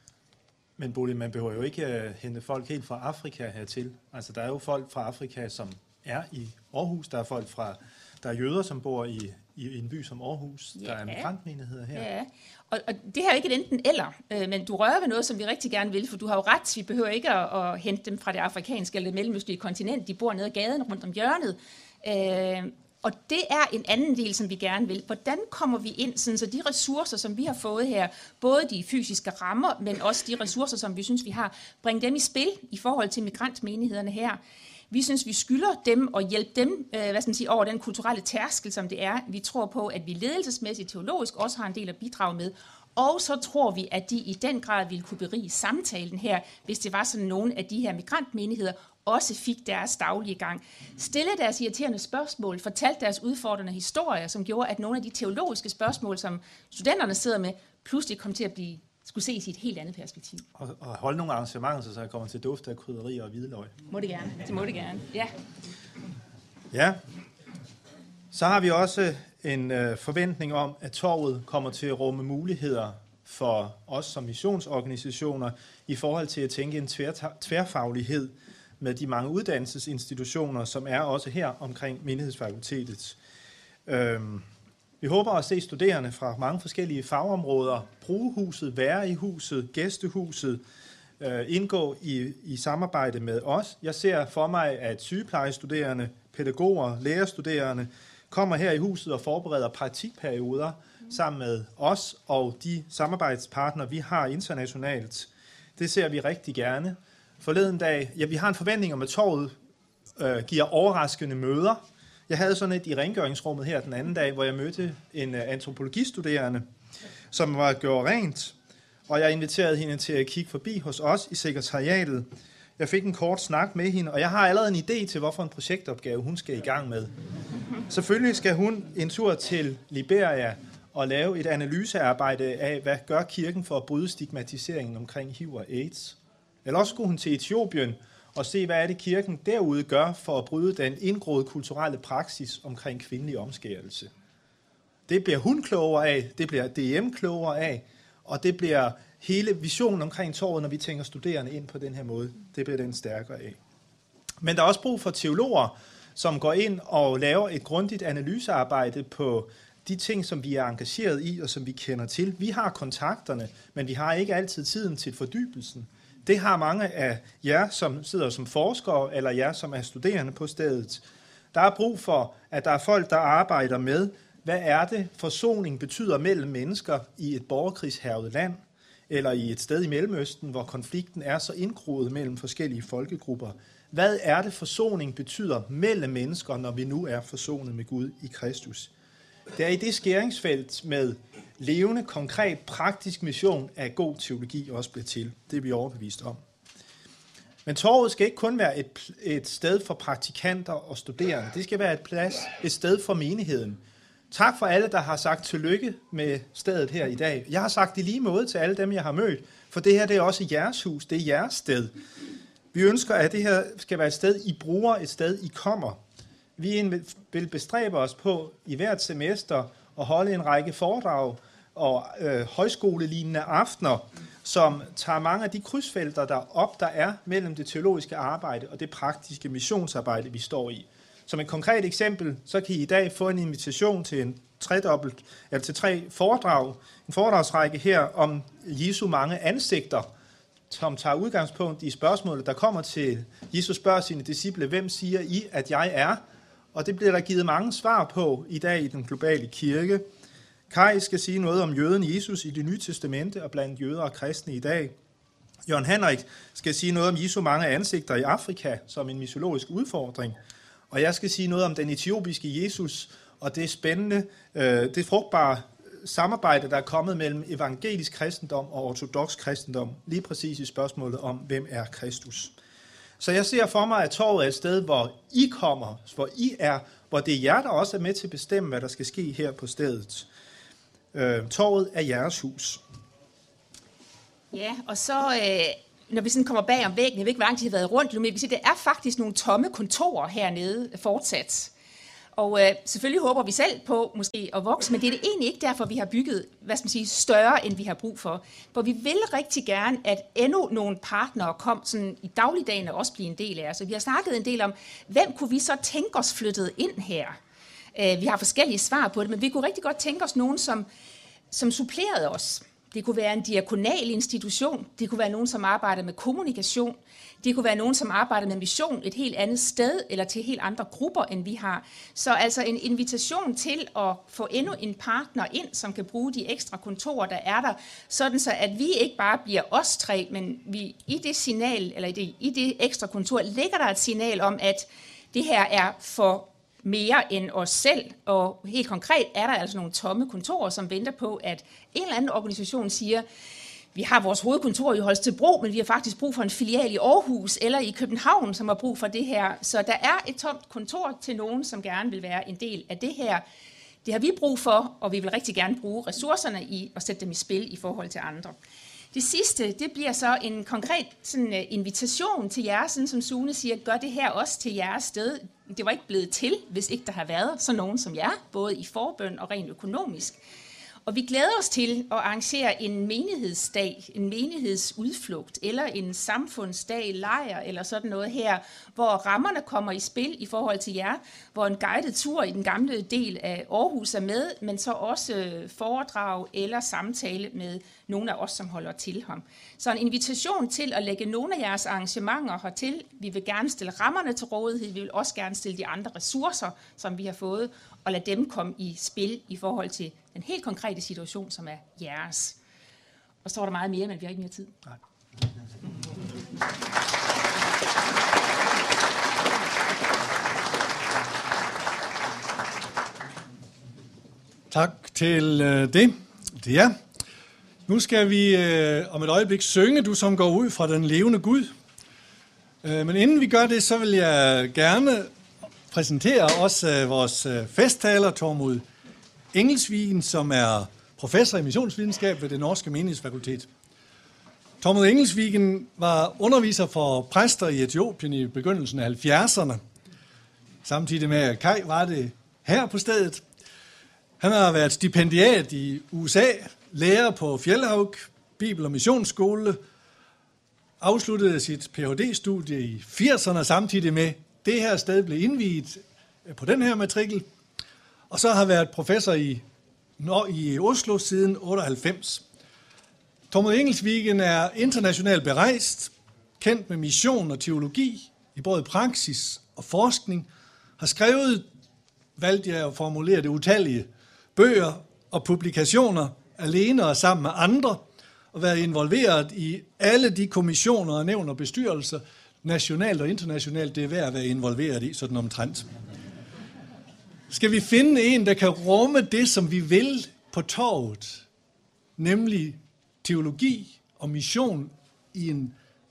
Men Bodil, man behøver jo ikke uh, hente folk helt fra Afrika hertil. Altså, der er jo folk fra Afrika, som er i Aarhus. Der er folk fra, der er jøder, som bor i, i en by som Aarhus. Ja. Der er migrantmenigheder her. Ja, og, og det her er ikke et enten eller, øh, men du rører ved noget, som vi rigtig gerne vil, for du har jo ret. Vi behøver ikke at, at hente dem fra det afrikanske eller det mellemøstlige kontinent. De bor nede ad gaden rundt om hjørnet. Øh, og det er en anden del, som vi gerne vil. Hvordan kommer vi ind, sådan, så de ressourcer, som vi har fået her, både de fysiske rammer, men også de ressourcer, som vi synes, vi har, bringe dem i spil i forhold til migrantmenighederne her. Vi synes, vi skylder dem og hjælpe dem øh, hvad skal man sige, over den kulturelle tærskel, som det er. Vi tror på, at vi ledelsesmæssigt, teologisk også har en del at bidrage med. Og så tror vi, at de i den grad ville kunne berige samtalen her, hvis det var sådan nogle af de her migrantmenigheder også fik deres daglige gang. Stille deres irriterende spørgsmål, fortalte deres udfordrende historier, som gjorde, at nogle af de teologiske spørgsmål, som studenterne sidder med, pludselig kom til at blive skulle ses i et helt andet perspektiv. Og, og holde nogle arrangementer, så jeg kommer til duft af krydderier og hvidløg. Må det gerne. Det må det gerne. Ja. Ja. Så har vi også en øh, forventning om, at torvet kommer til at rumme muligheder for os som missionsorganisationer i forhold til at tænke en tvær, tværfaglighed med de mange uddannelsesinstitutioner, som er også her omkring menighedsfakultetet. Øhm, Vi håber at se studerende fra mange forskellige fagområder bruge huset, være i huset, gæstehuset, øh, indgå i, i samarbejde med os. Jeg ser for mig, at sygeplejestuderende, pædagoger, lærerstuderende kommer her i huset og forbereder praktikperioder sammen med os og de samarbejdspartnere, vi har internationalt. Det ser vi rigtig gerne. Forleden dag, ja, vi har en forventning om, at torvet øh, giver overraskende møder. Jeg havde sådan et i rengøringsrummet her den anden dag, hvor jeg mødte en antropologistuderende, som var gjort rent, og jeg inviterede hende til at kigge forbi hos os i sekretariatet. Jeg fik en kort snak med hende, og jeg har allerede en idé til, hvorfor en projektopgave hun skal i gang med. Selvfølgelig skal hun en tur til Liberia og lave et analysearbejde af, hvad gør kirken for at bryde stigmatiseringen omkring H I V og AIDS. Eller også skulle hun til Etiopien og se, hvad er det kirken derude gør for at bryde den indgroede kulturelle praksis omkring kvindelig omskærelse. Det bliver hun klogere af, det bliver D M klogere af, og det bliver hele visionen omkring torvet, når vi tænker studerende ind på den her måde, det bliver den stærkere af. Men der er også brug for teologer, som går ind og laver et grundigt analysearbejde på de ting, som vi er engageret i og som vi kender til. Vi har kontakterne, men vi har ikke altid tiden til fordybelsen. Det har mange af jer, som sidder som forskere, eller jer, som er studerende på stedet. Der er brug for, at der er folk, der arbejder med, hvad er det, forsoning betyder mellem mennesker i et borgerkrigshærget land, eller i et sted i Mellemøsten, hvor konflikten er så indgroet mellem forskellige folkegrupper. Hvad er det, forsoning betyder mellem mennesker, når vi nu er forsonet med Gud i Kristus? Det er i det skæringsfelt med levende, konkret, praktisk mission af god teologi også bliver til. Det er vi overbevist om. Men torvet skal ikke kun være et, et sted for praktikanter og studerende. Det skal være et plads, et sted for menigheden. Tak for alle, der har sagt tillykke med stedet her i dag. Jeg har sagt det lige måde til alle dem, jeg har mødt, for det her det er også jeres hus, det er jeres sted. Vi ønsker, at det her skal være et sted, I bruger, et sted, I kommer. Vi vil bestræbe os på i hvert semester at holde en række foredrag og øh, højskolelignende aftener, som tager mange af de krydsfelter der op, der er mellem det teologiske arbejde og det praktiske missionsarbejde, vi står i. Som et konkret eksempel, så kan I i dag få en invitation til en tredobbelt, eller til tre foredrag, en foredragsrække her om Jesu mange ansigter, som tager udgangspunkt i spørgsmålet, der kommer til Jesus spørger sine disciple, hvem siger I, at jeg er? Og det bliver der givet mange svar på i dag i den globale kirke. Kai skal sige noget om jøden Jesus i Det Nye Testamente og blandt jøder og kristne i dag. Jørgen Henrik skal sige noget om Jesu mange ansigter i Afrika som en mytologisk udfordring. Og jeg skal sige noget om den etiopiske Jesus og det spændende, øh, det frugtbare samarbejde, der er kommet mellem evangelisk kristendom og ortodoks kristendom, lige præcis i spørgsmålet om, hvem er Kristus. Så jeg ser for mig, at torvet er et sted, hvor I kommer, hvor I er, hvor det er jer, der også er med til at bestemme, hvad der skal ske her på stedet. Øh, torvet er jeres hus. Ja, og så øh, når vi sådan kommer bag om væggen, jeg ved ikke, hvor langt de har været rundt, men vi kan se, der er faktisk nogle tomme kontorer hernede fortsat. Og øh, selvfølgelig håber vi selv på måske at vokse, men det er det egentlig ikke derfor, vi har bygget, hvad skal man sige, større, end vi har brug for. For vi vil rigtig gerne, at endnu nogle partnere kom sådan i dagligdagen og også blive en del af os. Så vi har snakket en del om, hvem kunne vi så tænke os flyttet ind her? Øh, vi har forskellige svar på det, men vi kunne rigtig godt tænke os nogen, som, som supplerede os. Det kunne være en diakonal institution, det kunne være nogen, som arbejder med kommunikation, det kunne være nogen, som arbejder med mission et helt andet sted, eller til helt andre grupper, end vi har. Så altså en invitation til at få endnu en partner ind, som kan bruge de ekstra kontorer, der er der, sådan så at vi ikke bare bliver os tre, men vi i det signal, eller i det, i det ekstra kontor, ligger der et signal om, at det her er for mere end os selv, og helt konkret er der altså nogle tomme kontorer, som venter på, at en eller anden organisation siger, vi har vores hovedkontor i Holstebro, men vi har faktisk brug for en filial i Aarhus eller i København, som har brug for det her. Så der er et tomt kontor til nogen, som gerne vil være en del af det her. Det har vi brug for, og vi vil rigtig gerne bruge ressourcerne i at sætte dem i spil i forhold til andre. Det sidste, det bliver så en konkret sådan, uh, invitation til jer, sådan som Sune siger, gør det her også til jeres sted. Det var ikke blevet til, hvis ikke der har været så nogen som jer, både i forbøn og rent økonomisk. Og vi glæder os til at arrangere en menighedsdag, en menighedsudflugt, eller en samfundsdag, lejr, eller sådan noget her, hvor rammerne kommer i spil i forhold til jer, hvor en guided tur i den gamle del af Aarhus er med, men så også foredrag eller samtale med nogle af os, som holder til ham. Så en invitation til at lægge nogle af jeres arrangementer hertil. Vi vil gerne stille rammerne til rådighed, vi vil også gerne stille de andre ressourcer, som vi har fået, og lade dem komme i spil i forhold til den helt konkrete situation, som er jeres. Og så var der meget mere, men vi har ikke mere tid. Nej. Tak til øh, det. Det er. Nu skal vi øh, om et øjeblik synge, du som går ud fra den levende Gud. Øh, men inden vi gør det, så vil jeg gerne præsentere også øh, vores øh, festtaler, Tormod Engelsvigen, som er professor i missionsvidenskab ved det norske menighedsfakultet. Tormod Engelsvigen var underviser for præster i Etiopien i begyndelsen af halvfjerdserne. Samtidig med at Kai var det her på stedet. Han har været stipendiat i U S A, lærer på Fjellhaug, Bibel- og Missionsskole, afsluttede sit P H D-studie i firserne, samtidig med det her sted blev indviet på den her matrikel, og så har været professor i, i Oslo siden otteoghalvfems. Tormod Engelsvigen er internationalt berejst, kendt med mission og teologi i både praksis og forskning, har skrevet, valgte jeg at formulere det, utallige bøger og publikationer alene og sammen med andre, og været involveret i alle de kommissioner og nævn og bestyrelser, nationalt og internationalt, det er værd at være involveret i, sådan omtrent. Skal vi finde en, der kan rumme det, som vi vil på torvet, nemlig teologi og mission i en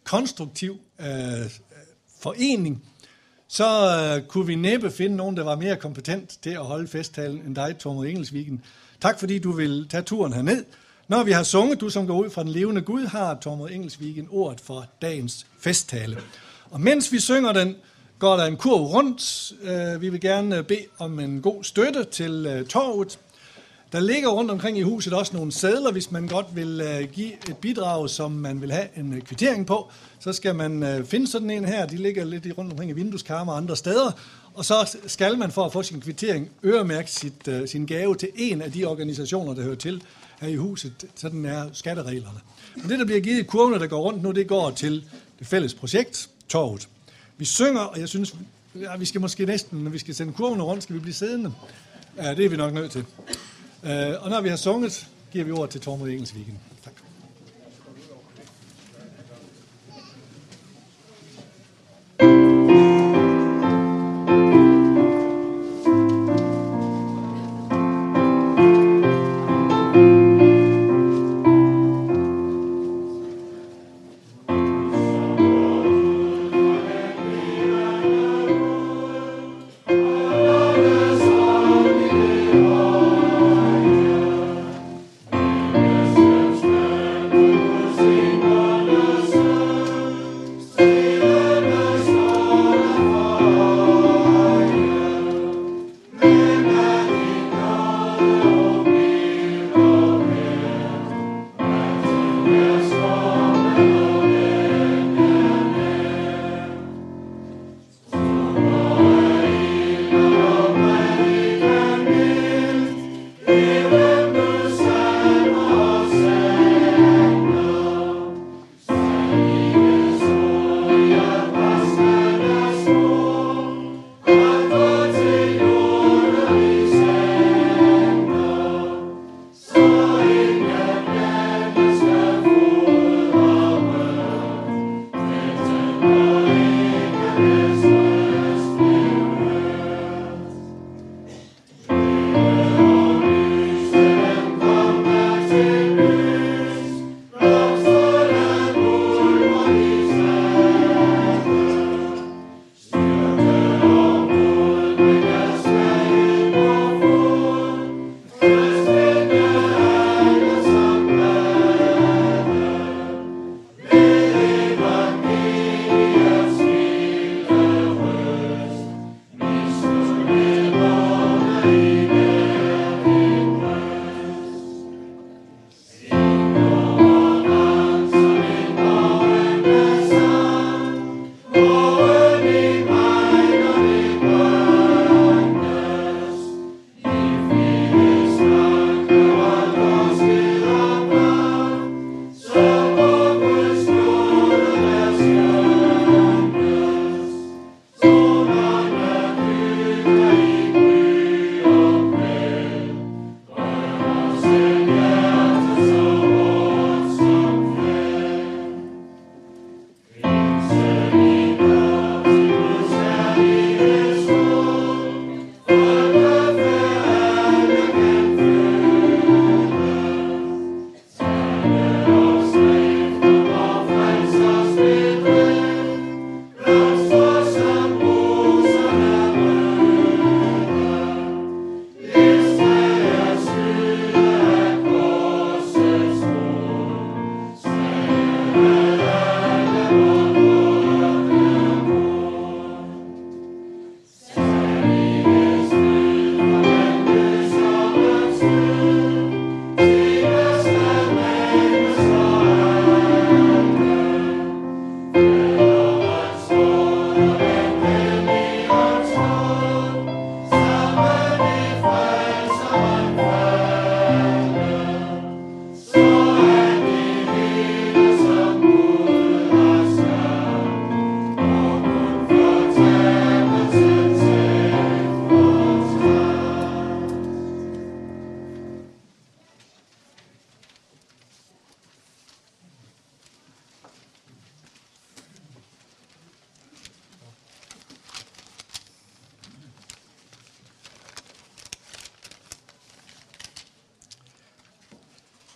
konstruktiv øh, forening, så øh, kunne vi næppe finde nogen, der var mere kompetent til at holde festtalen end dig, Tormod Engelsvigen. Tak fordi du vil tage turen herned. Når vi har sunget, du som går ud fra den levende Gud, har Tormod Engelsvigen ordet for dagens festtale. Og mens vi synger den, går der en kurv rundt. Øh, vi vil gerne bede om en god støtte til øh, torvet. Der ligger rundt omkring i huset også nogle sedler, hvis man godt vil øh, give et bidrag, som man vil have en øh, kvittering på. Så skal man øh, finde sådan en her. De ligger lidt i rundt omkring i vindueskarmer og andre steder. Og så skal man for at få sin kvittering øremærke sit, øh, sin gave til en af de organisationer, der hører til her i huset. Sådan er skattereglerne. Men det, der bliver givet i kurvene, der går rundt nu, det går til det fælles projekt, torvet. Vi synger, og jeg synes, ja, vi skal måske næsten, når vi skal sende kurvene rundt, skal vi blive siddende. Ja, det er vi nok nødt til. Uh, og når vi har sunget, giver vi ordet til Tormod Engelsvigen. Tak. Yes.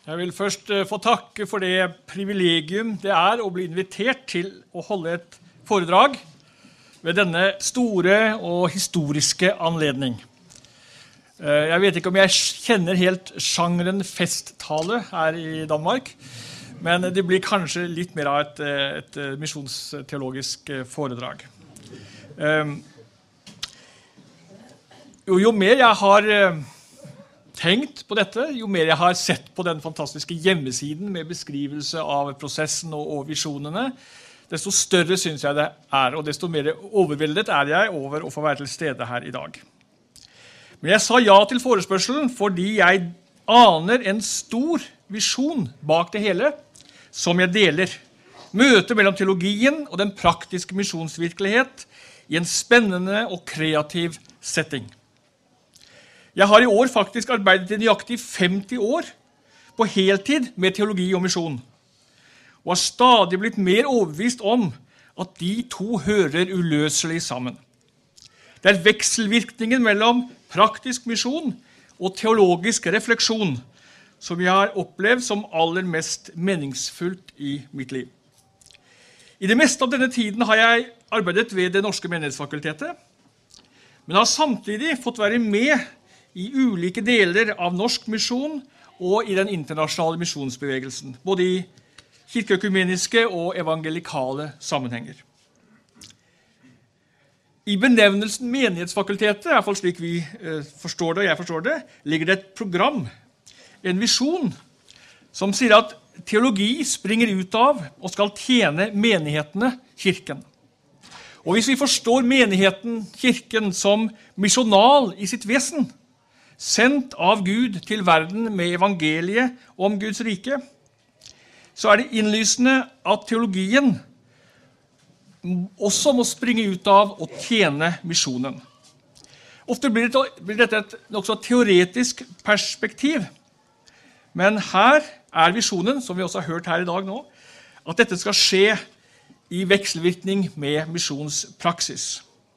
Jeg vil først få takke for det privilegium det er å bli invitert til å holde et foredrag ved denne store og historiske anledning. Jeg vet ikke om jeg kjenner helt sjangeren festtale her i Danmark, men det blir kanskje litt mer av et, et misjonsteologisk foredrag. Jo, jo mer jeg har tenkt på dette, jo mer jeg har sett på den fantastiske hjemmesiden med beskrivelse av prosessen og, og visjonene, desto større synes jeg det er, og desto mer overveldet er jeg over å få være til stede her i dag. Men jeg sa ja til forespørselen fordi jeg aner en stor visjon bak det hele, som jeg deler. Møtet mellom teologien og den praktiske misjonsvirkelighet i en spennende og kreativ setting. Jeg har i år faktisk arbeidet i nøyaktig femti år på heltid med teologi og misjon, og har stadig blitt mer overbevist om at de to hører uløselig sammen. Det er vekselvirkningen mellom praktisk misjon og teologisk refleksjon som jeg har opplevd som aller mest meningsfullt i mitt liv. I det meste av denne tiden har jeg arbeidet ved Det Norske Menighetsfakultetet, men har samtidig fått være med i ulike deler av norsk misjon og i den internasjonale misjonsbevegelsen, både i kirkeøkumeniske og evangelikale sammenhenger. I benevnelsen Menighetsfakultetet, i hvert fall slik vi eh, forstår det og jeg forstår det, ligger det et program, en visjon, som sier at teologi springer ut av og skal tjene menighetene, kirken. Og hvis vi forstår menigheten, kirken, som misjonal i sitt vesen, sendt av Gud til verden med evangeliet om Guds rike, så er det innlysende at teologien også må springe ut av å tjene misjonen. Ofte blir dette et nokså teoretisk perspektiv, men her er visjonen, som vi også har hørt her i dag nå, at dette skal skje i vekselvirkning med misjonspraksis.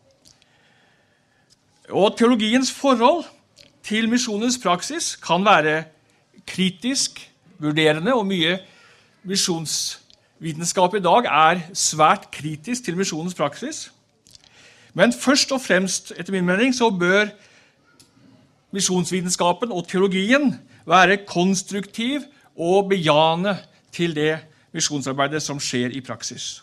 Og teologiens forhold til misjonens praksis kan være kritisk, vurderende, og mye misjonsvitenskap i dag er svært kritisk til misjonens praksis. Men først og fremst, etter min mening, så bør misjonsvitenskapen og teologien være konstruktiv og bejane til det misjonsarbeidet som skjer i praksis.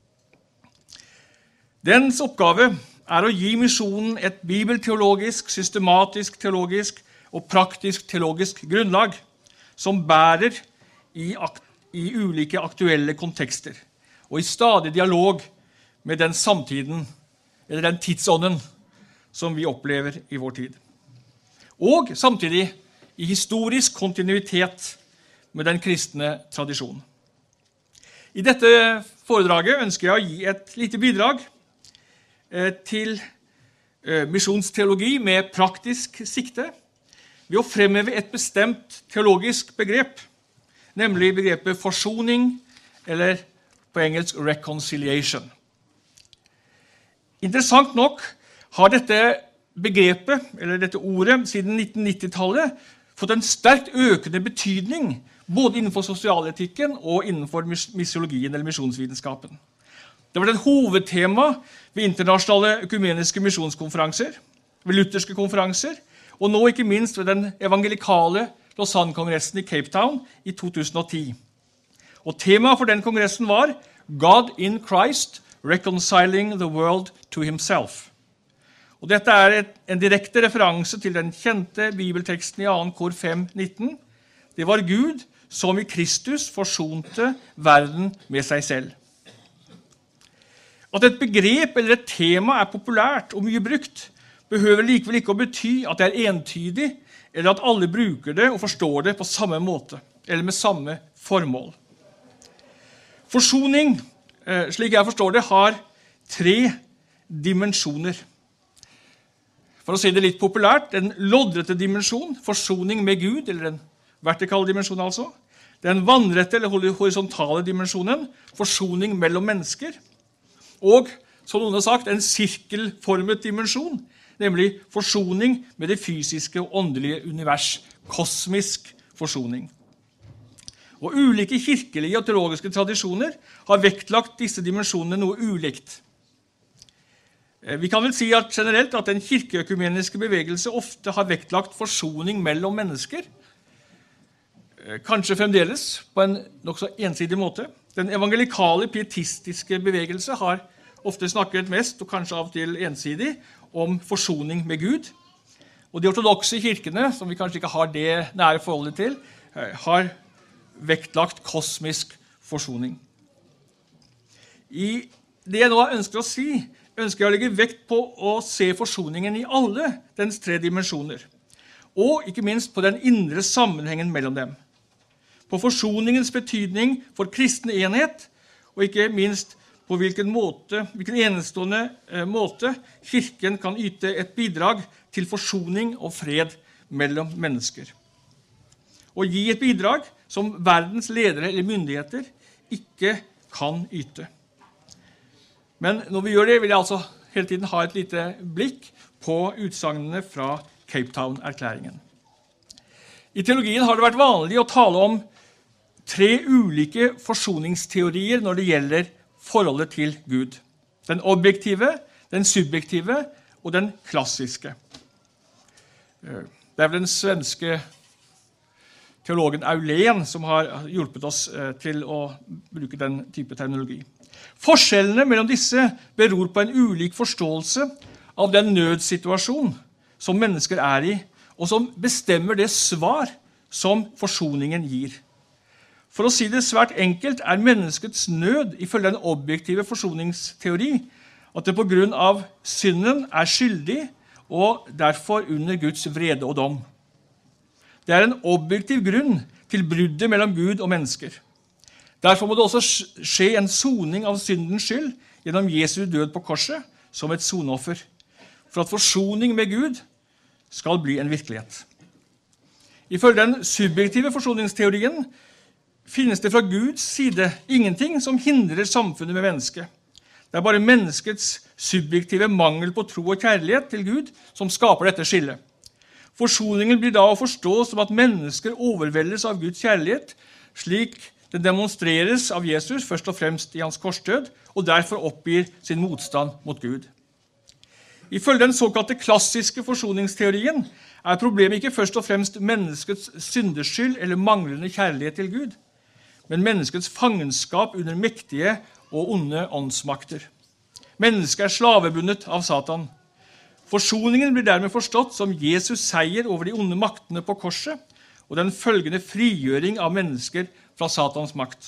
Dens oppgave er å gi misjonen et bibelteologisk, systematisk teologisk og praktisk teologisk grunnlag som bærer i, i ulike aktuelle kontekster og i stadig dialog med den samtiden, eller den tidsånden som vi opplever i vår tid. Og samtidig i historisk kontinuitet med den kristne tradisjonen. I dette foredraget ønsker jeg å gi et lite bidrag til misjonsteologi med praktisk sikte ved å fremheve et bestemt teologisk begrep, nemlig begrepet forsoning, eller på engelsk reconciliation. Interessant nok har dette begrepet, eller dette ordet, siden nitten nittitallet fått en sterkt økende betydning både innenfor sosialetikken og innenfor missiologien eller misjonsvitenskapen. Det var et hovedtema ved internasjonale økumeniske misjonskonferanser, ved lutherske konferanser, og nå ikke minst ved den evangelikale Lausanne-kongressen i Cape Town i to tusen og ti. Og temaet for den kongressen var God in Christ, reconciling the world to himself. Og dette er et, en direkte referanse til den kjente bibelteksten i andre kor fem nitten. Det var Gud som i Kristus forsonte verden med seg selv. At et begrep eller et tema er populært og mye brukt, behøver likevel ikke å bety at det er entydig, eller at alle bruker det og forstår det på samme måte, eller med samme formål. Forsoning, slik jeg forstår det, har tre dimensjoner. For å si det litt populært, den loddrette dimensjon, forsoning med Gud, eller den vertikale dimensjonen altså, den vannrette eller horisontale dimensjonen, forsoning mellom mennesker, og, som noen har sagt, en sirkelformet dimensjon, nemlig forsoning med det fysiske og åndelige univers, kosmisk forsoning. Og ulike kirkelige og teologiske tradisjoner har vektlagt disse dimensjonene noe ulikt. Vi kan vel si at generelt at den kirkeøkumeniske bevegelse ofte har vektlagt forsoning mellom mennesker, kanskje fremdeles på en nok så ensidig måte. Den evangelikale pietistiske bevegelse har ofte snakket mest, og kanskje av og til ensidig, om forsoning med Gud. Og de ortodokse kirkene, som vi kanskje ikke har det nære forholdet til, har vektlagt kosmisk forsoning. I det jeg nå ønsker å si, ønsker jeg å legge vekt på å se forsoningen i alle dens tre dimensjoner, og ikke minst på den indre sammenhengen mellom dem. På forsoningens betydning for kristen enhet, og ikke minst på hvilken, måte, hvilken enestående eh, måte kirken kan yte et bidrag til forsoning og fred mellom mennesker. Og gi et bidrag som verdens ledere eller myndigheter ikke kan yte. Men når vi gjør det, vil jeg altså hele tiden ha et lite blikk på utsagnene fra Cape Town-erklæringen. I teologien har det vært vanlig å tale om tre ulike forsoningsteorier når det gjelder forholdet til Gud. Den objektive, den subjektive og den klassiske. Det er vel den svenske teologen Aulén som har hjulpet oss til å bruke den type terminologi. Forskjellene mellom disse beror på en ulik forståelse av den nødsituasjon som mennesker er i, og som bestemmer det svar som forsoningen gir. For å si det svært enkelt er menneskets nød ifølge den objektive forsoningsteori at det på grunn av synden er skyldig og derfor under Guds vrede og dom. Det er en objektiv grunn til bruddet mellom Gud og mennesker. Derfor må det også skje en soning av syndens skyld gjennom Jesu død på korset som et sonoffer, for at forsoning med Gud skal bli en virkelighet. Ifølge den subjektive forsoningsteorien finnes det fra Guds side ingenting som hindrer samfunnet med mennesket. Det er bare menneskets subjektive mangel på tro og kjærlighet til Gud som skaper dette skillet. Forsoningen blir da å forstå som at mennesker overveldes av Guds kjærlighet, slik den demonstreres av Jesus først og fremst i hans korsdød, og derfor oppgir sin motstand mot Gud. Ifølge den såkalte klassiske forsoningsteorien er problemet ikke først og fremst menneskets syndeskyld eller manglende kjærlighet til Gud, men menneskets fangenskap under mektige og onde åndsmakter. Mennesket er slavebundet av Satan. Forsoningen blir dermed forstått som Jesus seier over de onde maktene på korset, og den følgende frigjøring av mennesker fra Satans makt.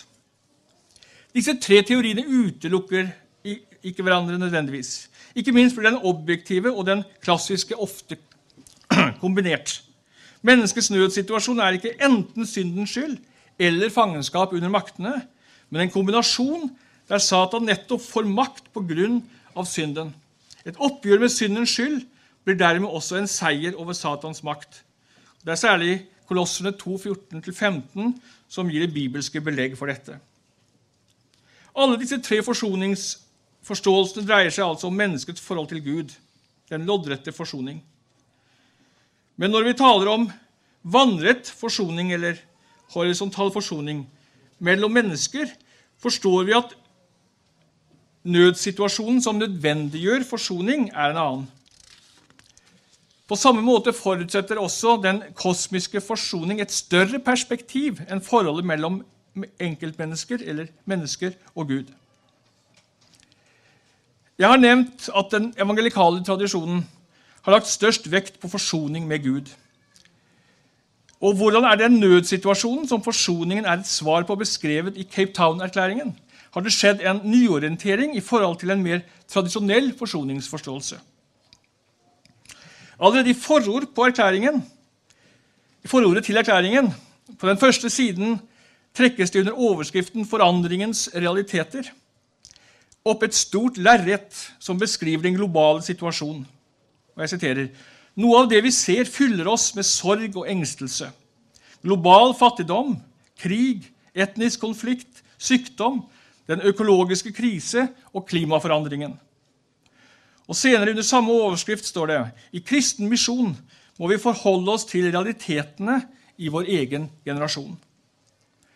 Disse tre teoriene utelukker ikke hverandre nødvendigvis. Ikke minst blir den objektive og den klassiske ofte kombinert. Menneskets nødsituasjon er ikke enten syndens skyld eller fangenskap under maktene, men en kombinasjon der Satan nettopp får makt på grunn av synden. Et oppgjør med syndens skyld blir dermed også en seier over Satans makt. Det er særlig Kolosserne to, fjorten til femten som gir det bibelske belegg for dette. Alle disse tre forsoningsforståelsene dreier seg altså om menneskets forhold til Gud, den loddrette forsoning. Men når vi taler om vannrett forsoning eller horisontal forsoning mellom mennesker, forstår vi at nødsituasjonen som nødvendiggjør forsoning er en annen. På samme måte forutsetter også den kosmiske forsoning et større perspektiv enn forholdet mellom enkeltmennesker eller mennesker og Gud. Jeg har nevnt at den evangelikale tradisjonen har lagt størst vekt på forsoning med Gud. Og hvordan er den nødsituasjonen som forsoningen er et svar på beskrevet i Cape Town-erklæringen? Har det skjedd en nyorientering i forhold til en mer tradisjonell forsoningsforståelse? Allerede i forord på erklæringen, i forordet til erklæringen, på den første siden trekkes det under overskriften «Forandringens realiteter» opp et stort lerret som beskriver den globale situasjonen. Og jeg siterer, «Noe av det vi ser fyller oss med sorg og engstelse. Global fattigdom, krig, etnisk konflikt, sykdom, den økologiske krise og klimaforandringen. Og senere under samme overskrift står det, i kristen misjon må vi forholde oss til realitetene i vår egen generasjon.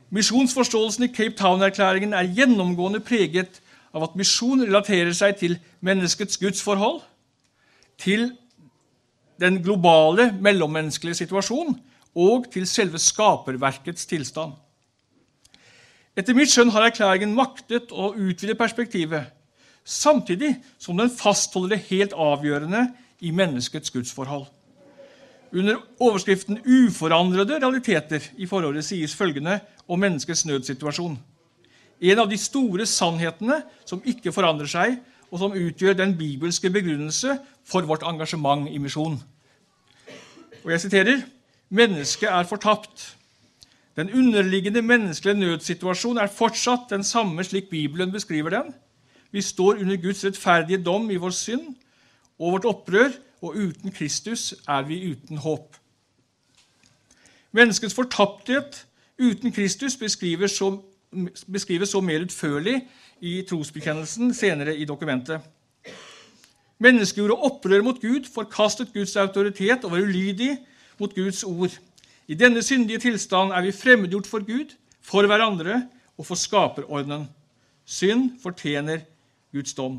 Misjonsforståelsen i Cape Town-erklæringen er gjennomgående preget av at misjon relaterer seg til menneskets gudsforhold, til den globale mellommenneskelige situasjon og til selve skaperverkets tilstand. Etter mitt skjønn har erklæringen maktet å utvide perspektivet, samtidig som den fastholder det helt avgjørende i menneskets gudsforhold. Under overskriften uforandrede realiteter i forholdet sies følgende om menneskets nødsituasjon. En av de store sannhetene som ikke forandrer seg, og som utgjør den bibelske begrunnelse for vårt engasjement i misjon. Og jeg siterer, mennesket er fortapt. Den underliggende menneskelige nødsituasjon er fortsatt den samme slik Bibelen beskriver den. Vi står under Guds rettferdige dom i vår synd og vårt opprør, og uten Kristus er vi uten håp. Menneskets fortapthet uten Kristus beskrives så, beskrives så mer utførlig i trosbekjennelsen senere i dokumentet. Mennesket gjorde opprør mot Gud, forkastet Guds autoritet og var ulydig mot Guds ord. I denne syndige tilstand er vi fremmedgjort for Gud, for hverandre og for skaperordnen. Synd fortjener Guds dom.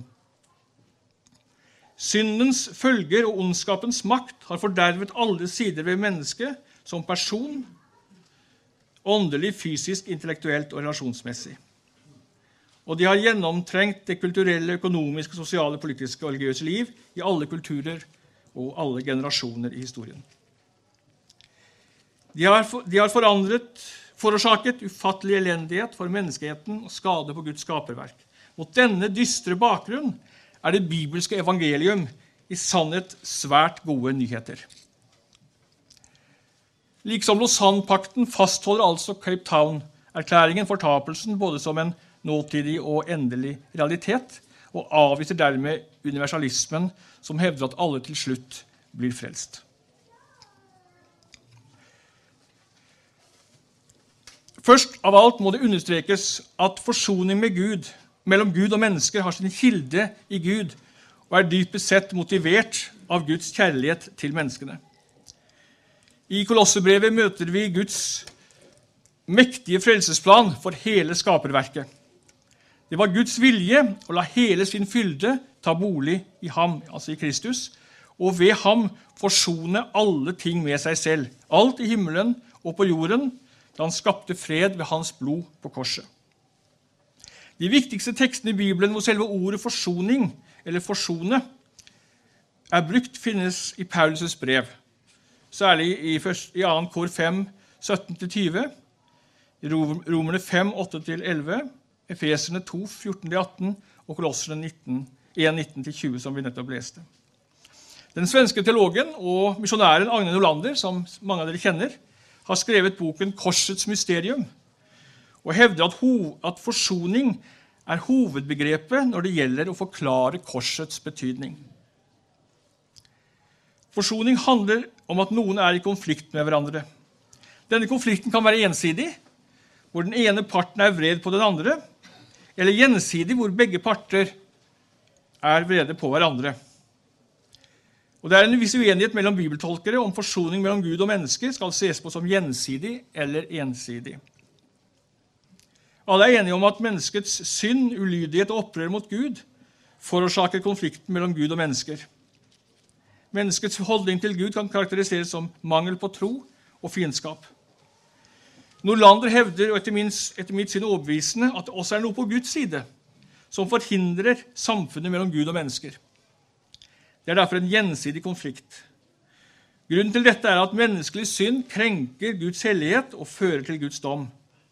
Syndens følger og ondskapens makt har fordervet alle sider ved mennesket som person, åndelig, fysisk, intellektuelt og relasjonsmessig. Og de har gjennomtrengt det kulturelle, økonomiske, sosiale, politiske og religiøse liv i alle kulturer og alle generasjoner i historien. De har, de har forandret, forårsaket ufattelig elendighet for menneskeheten og skade på Guds skaperverk. Mot denne dystre bakgrunn er det bibelske evangelium i sannhet svært gode nyheter. Liksom Lausanne-pakten fastholder altså Cape Town-erklæringen fortapelsen både som en nåtidig og endelig realitet, og avviser dermed universalismen som hevder at alle til slutt blir frelst. Først av alt må det understrekes at forsoning med Gud, mellom Gud og mennesker har sin kilde i Gud, og er dypest sett motivert av Guds kjærlighet til menneskene. I Kolossebrevet møter vi Guds mektige frelsesplan for hele skaperverket. Det var Guds vilje å la hele sin fylde ta bolig i ham, altså i Kristus, og ved ham forsone alle ting med seg selv, alt i himmelen og på jorden, da han skapte fred ved hans blod på korset. De viktigste tekstene i Bibelen hvor selve ordet forsoning, eller forsone, er brukt finnes i Paulus' brev, særlig i, i andre kor fem, sytten til tyve, i Romerne fem, åtte til elleve, Efeserne to, fjorten til atten og Kolosserne en, nitten til tjue, som vi nettopp leste. Den svenske teologen og misjonæren Agne Nolander, som mange av dere kjenner, har skrevet boken Korsets mysterium, og hevder at, ho- at forsoning er hovedbegrepet når det gjelder å forklare korsets betydning. Forsoning handler om at noen er i konflikt med hverandre. Denne konflikten kan være ensidig, hvor den ene parten er vred på den andre, eller gjensidig, hvor begge parter er vrede på hverandre. Og det er en viss uenighet mellom bibeltolkere om forsoning mellom Gud og mennesker skal ses på som gjensidig eller ensidig. Alle er enige om at menneskets synd, ulydighet og opprør mot Gud forårsaker konflikten mellom Gud og mennesker. Menneskets holdning til Gud kan karakteriseres som mangel på tro og fiendskap. Nolander hevder, og etter, min, etter mitt syn overbevisende, at det også er noe på Guds side som forhindrer samfunnet mellom Gud og mennesker. Det er derfor en gjensidig konflikt. Grunnen til dette er at menneskelig synd krenker Guds hellighet og fører til Guds dom.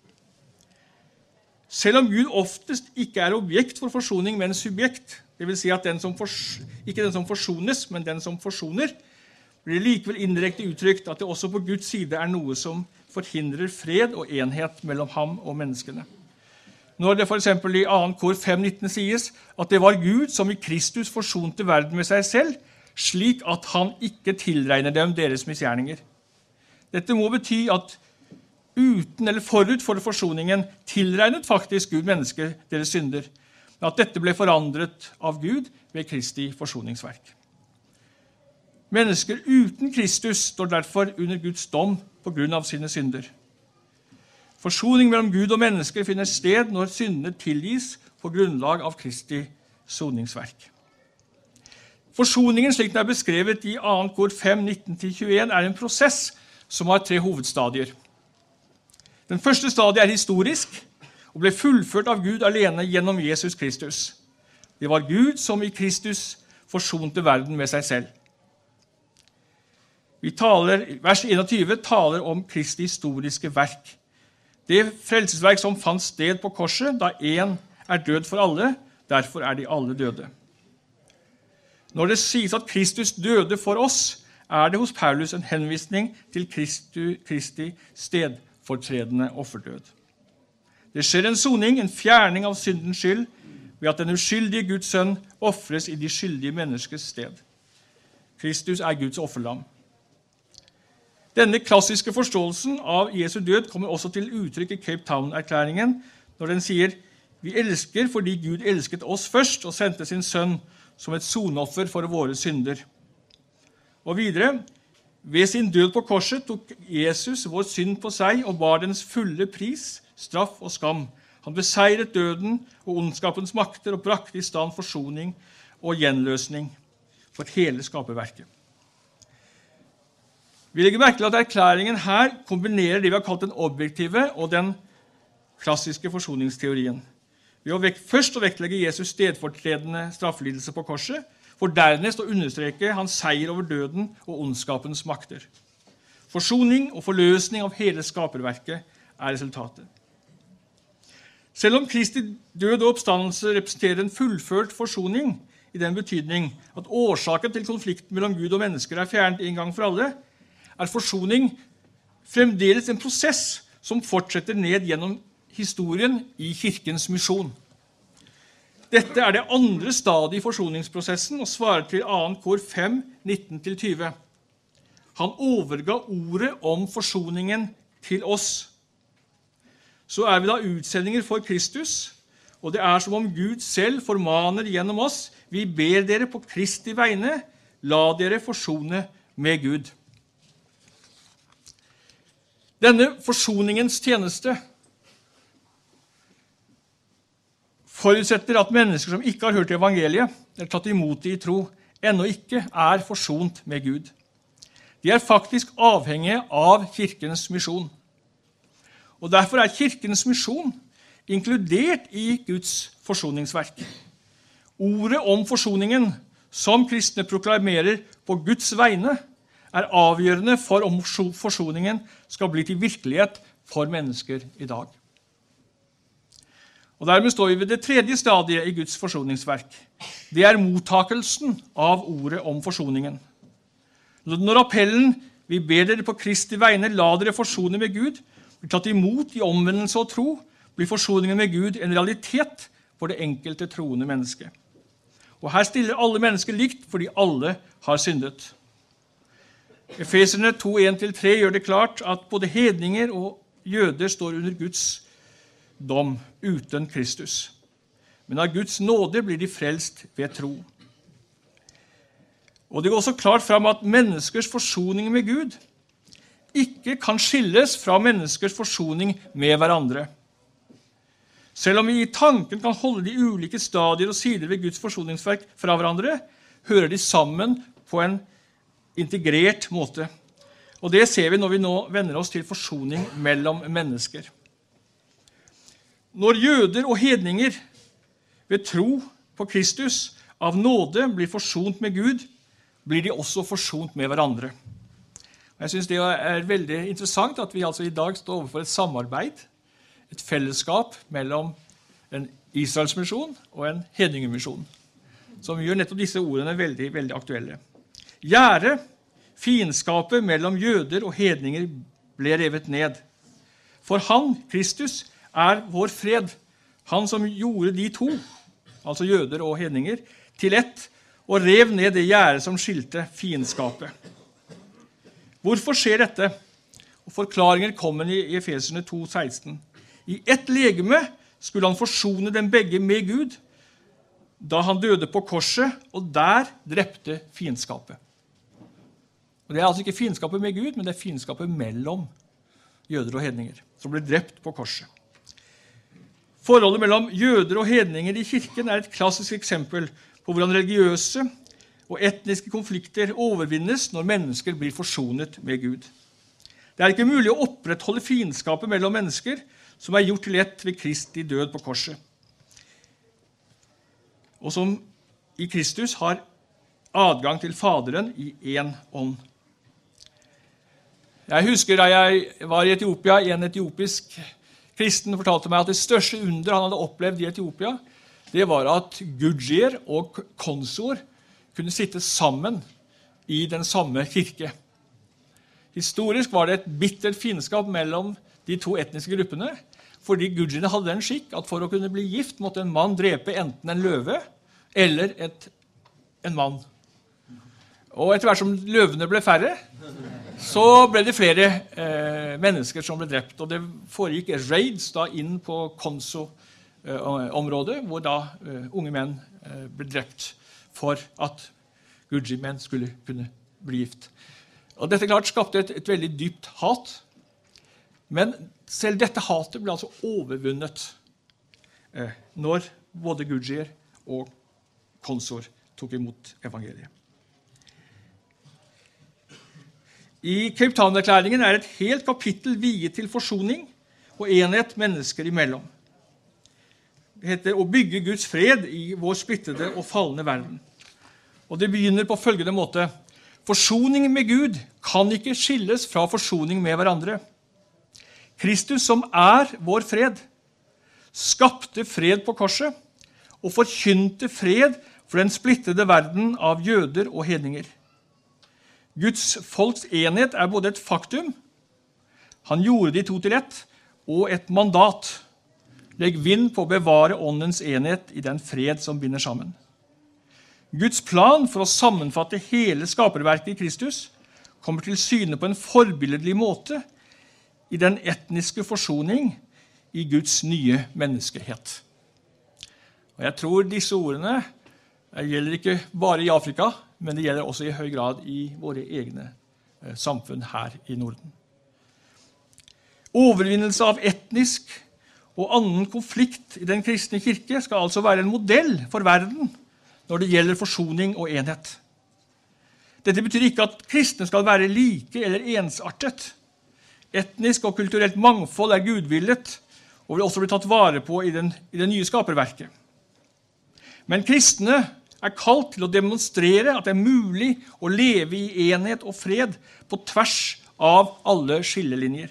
Selv om Gud oftest ikke er objekt for forsoning, men subjekt, det vil si at den som fors- ikke den som forsones, men den som forsoner, blir det likevel indirekte uttrykt at det også på Guds side er noe som forhindrer fred og enhet mellom ham og menneskene. Når det for eksempel i andre kor fem, nitten sies at det var Gud som i Kristus forsonte verden med seg selv, slik at han ikke tilregner dem deres misgjerninger. Dette må bety at uten eller forut for forsoningen tilregnet faktisk Gud mennesker deres synder, men at dette ble forandret av Gud ved Kristi forsoningsverk. Mennesker uten Kristus står derfor under Guds dom på grunn av sine synder. Forsoning mellom Gud og mennesker finner sted når syndene tilgis på grunnlag av Kristi soningsverk. Forsoningen, slik den er beskrevet i annet kor fem, nitten til tjueen, er en prosess som har tre hovedstadier. Den første stadiet er historisk og ble fullført av Gud alene gjennom Jesus Kristus. Det var Gud som i Kristus forsonte verden med seg selv. Vi taler, vers enogtyve taler om Kristi historiske verk. Det frelsesverk som fant sted på korset, da en er død for alle, derfor er de alle døde. Når det sies at Kristus døde for oss, er det hos Paulus en henvisning til Kristi, Kristi stedfortredende offerdød. Det skjer en soning, en fjerning av syndens skyld, ved at den uskyldige Guds sønn offres i de skyldige menneskers sted. Kristus er Guds offerlam. Denne klassiske forståelsen av Jesu død kommer også til uttrykk i Cape Town-erklæringen, når den sier, vi elsker fordi Gud elsket oss først og sendte sin sønn som et sonoffer for våre synder. Og videre, ved sin død på korset tok Jesus vår synd på seg og bar dens fulle pris, straff og skam. Han beseiret døden og ondskapens makter og brakte i stand forsoning og gjenløsning for hele skaperverket. Vi legger merke til at erklæringen her kombinerer det vi har kalt den objektive og den klassiske forsoningsteorien. Ved å vekt, først å vektlegge Jesus stedfortredende straffelidelse på korset, for dernest å understreke hans seier over døden og ondskapens makter. Forsoning og forløsning av hele skaperverket er resultatet. Selv om Kristi død og oppstandelse representerer en fullført forsoning, i den betydning at årsaken til konflikten mellom Gud og mennesker er fjernet en gang for alle, er forsoning fremdeles en prosess som fortsetter ned gjennom historien i kirkens misjon. Dette er det andre stadiet i forsoningsprosessen og svarer til annet kor fem, nitten til tyve. Han overga ordet om forsoningen til oss. Så er vi da utsendinger for Kristus, og det er som om Gud selv formaner gjennom oss, vi ber dere på Kristi vegne, la dere forsone med Gud. Denne forsoningens tjeneste forutsetter at mennesker som ikke har hørt evangeliet, eller tatt imot det i tro, ennå ikke er forsont med Gud. De er faktisk avhengige av kirkens misjon. Og derfor er kirkens misjon inkludert i Guds forsoningsverk. Ordet om forsoningen, som kristne proklamerer på Guds vegne, er avgjørende for om forsoningen skal bli til virkelighet for mennesker i dag. Og dermed står vi ved det tredje stadiet i Guds forsoningsverk. Det er mottakelsen av ordet om forsoningen. Når appellen, vi ber dere på Kristi vegne, la dere forsone med Gud, blir tatt imot i omvendelse og tro, blir forsoningen med Gud en realitet for det enkelte troende menneske. Og her stiller alle mennesker likt, fordi alle har syndet. Efeserne to, en til tre gjør det klart at både hedninger og jøder står under Guds dom uten Kristus. Men av Guds nåde blir de frelst ved tro. Og det går også klart fram at menneskers forsoning med Gud ikke kan skilles fra menneskers forsoning med hverandre. Selv om vi i tanken kan holde de ulike stadier og sider ved Guds forsoningsverk fra hverandre, hører de sammen på en integrert måte. Og det ser vi når vi nå vender oss til forsoning mellom mennesker. Når jøder og hedninger ved tro på Kristus av nåde blir forsont med Gud, blir de også forsont med hverandre. Og jeg synes det er veldig interessant at vi altså i dag står overfor et samarbeid, et fellesskap mellom en Israelsmisjon og en hedningemisjon, som gjør nettopp disse ordene veldig, veldig aktuelle. Gjerde, fiendskapet mellom jøder og hedninger ble revet ned. For han, Kristus, er vår fred. Han som gjorde de to, altså jøder og hedninger, til ett, og rev ned det gjerde som skilte fiendskapet. Hvorfor skjer dette? Og forklaringer kommer i Efeserne to, seksten. I ett legeme skulle han forsone dem begge med Gud, da han døde på korset, og der drepte fiendskapet. Og det er altså ikke fiendskapet med Gud, men det er fiendskapet mellom jøder og hedninger, som ble drept på korset. Forholdet mellom jøder og hedninger i kirken er et klassisk eksempel på hvordan religiøse og etniske konflikter overvinnes når mennesker blir forsonet med Gud. Det er ikke mulig å opprettholde fiendskapet mellom mennesker som er gjort til ett ved Kristi død på korset, og som i Kristus har adgang til Faderen i én ånd. Jeg husker da jeg var i Etiopia, en etiopisk kristen fortalte meg at det største under han hadde opplevd i Etiopia, det var at Gudjir og Konsor kunne sitte sammen i den samme kirke. Historisk var det et bittert fiendskap mellom de to etniske gruppene, fordi Gudjirene hadde den skikk at for å kunne bli gift måtte en mann drepe enten en løve eller et, en mann. Og etter hvert som løvene ble færre, så ble det flere eh, mennesker som ble drept, og det foregikk raids da inn på Konso-området, eh, hvor da eh, unge menn eh, ble drept for at Gudji-menn skulle kunne bli gift. Og dette klart skapte et, et veldig dypt hat, men selv dette hatet ble altså overvunnet eh, når både Gudjir og Konsor tok imot evangeliet. I Cape Town-erklæringen er et helt kapittel viet til forsoning og enhet mennesker imellom. Det heter å bygge Guds fred i vår splittede og fallende verden. Og det begynner på følgende måte: forsoning med Gud kan ikke skilles fra forsoning med hverandre. Kristus, som er vår fred, skapte fred på korset og forkynte fred for den splittede verden av jøder og hedninger. Guds folks enhet er både et faktum, han gjorde de to til ett, og et mandat. Legg vind på å bevare åndens enhet i den fred som binder sammen. Guds plan for å sammenfatte hele skaperverket i Kristus kommer til syne på en forbilledlig måte i den etniske forsoning i Guds nye menneskehet. Og jeg tror disse ordene gjelder ikke bare i Afrika, men det gjelder også i høy grad i våre egne samfunn her i Norden. Overvinnelse av etnisk og annen konflikt i den kristne kirke skal altså være en modell for verden når det gjelder forsoning og enhet. Dette betyr ikke at kristne skal være like eller ensartet. Etnisk og kulturelt mangfold er gudvillet og vil også bli tatt vare på i, den, i det nye skaperverket. Men kristne er kalt til å demonstrere at det er mulig å leve i enhet og fred på tvers av alle skillelinjer.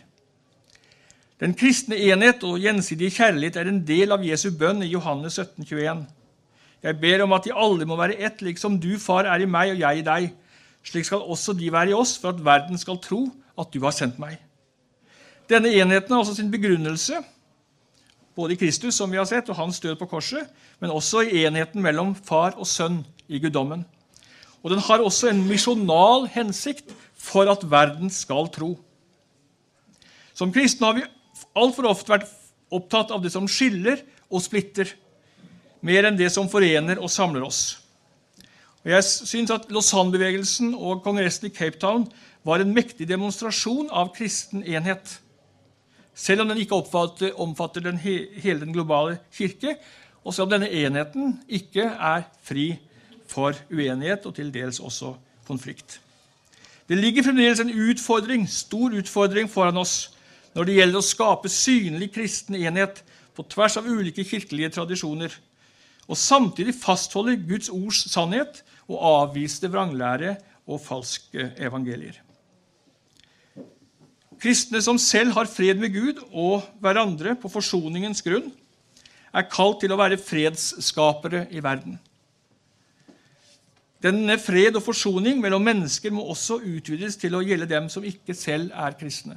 Den kristne enhet og gjensidige kjærlighet er en del av Jesu bønn i Johannes sytten tjueen. Jeg ber om at de alle må være ett, liksom du, far, er i meg og jeg i deg. Slik skal også de være i oss, for at verden skal tro at du har sendt meg. Denne enheten har også sin begrunnelse, både i Kristus, som vi har sett, og hans død på korset, men også i enheten mellom far og sønn i guddommen. Og den har også en misjonal hensikt for at verden skal tro. Som kristne har vi alt for ofte vært opptatt av det som skiller og splitter, mer enn det som forener og samler oss. Og jeg synes at Lausanne-bevegelsen og kongressen i Cape Town var en mektig demonstrasjon av kristen enhet, selv om den ikke omfatter den he- hele den globale kirke, og selv om denne enheten ikke er fri for uenighet og til dels også konflikt. Det ligger fremdeles en utfordring, stor utfordring foran oss når det gjelder å skape synlig kristen enhet på tvers av ulike kirkelige tradisjoner, og samtidig fastholde Guds ords sannhet og avvise vranglære og falske evangelier. Kristne som selv har fred med Gud og hverandre på forsoningens grunn, er kalt til å være fredsskapere i verden. Denne fred og forsoning mellom mennesker må også utvides til å gjelde dem som ikke selv er kristne.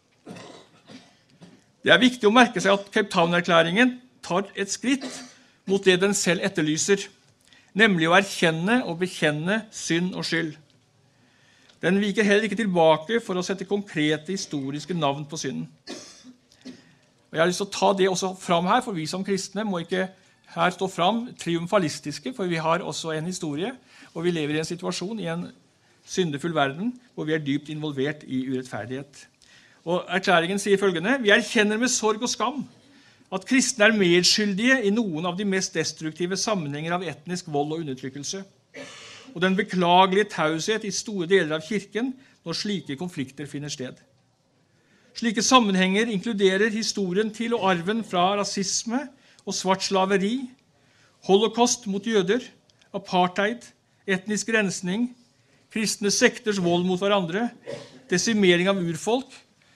Det er viktig å merke seg at Cape Town-erklæringen tar et skritt mot det den selv etterlyser, nemlig å erkjenne og bekjenne synd og skyld. Den viker heller ikke tilbake for å sette konkrete historiske navn på synden. Og jeg har lyst til å ta det også fram her, for vi som kristne må ikke her stå fram triumfalistiske, for vi har også en historie, og vi lever i en situasjon i en syndefull verden, hvor vi er dypt involvert i urettferdighet. Og erklæringen sier følgende: Vi erkjenner med sorg og skam at kristne er medskyldige i noen av de mest destruktive sammenhenger av etnisk vold og undertrykkelse, og den beklagelige taushet i store deler av kirken når slike konflikter finner sted. Slike sammenhenger inkluderer historien til og arven fra rasisme og svart slaveri, holocaust mot jøder, apartheid, etnisk rensning, kristne sekters vold mot hverandre, desimering av urfolk,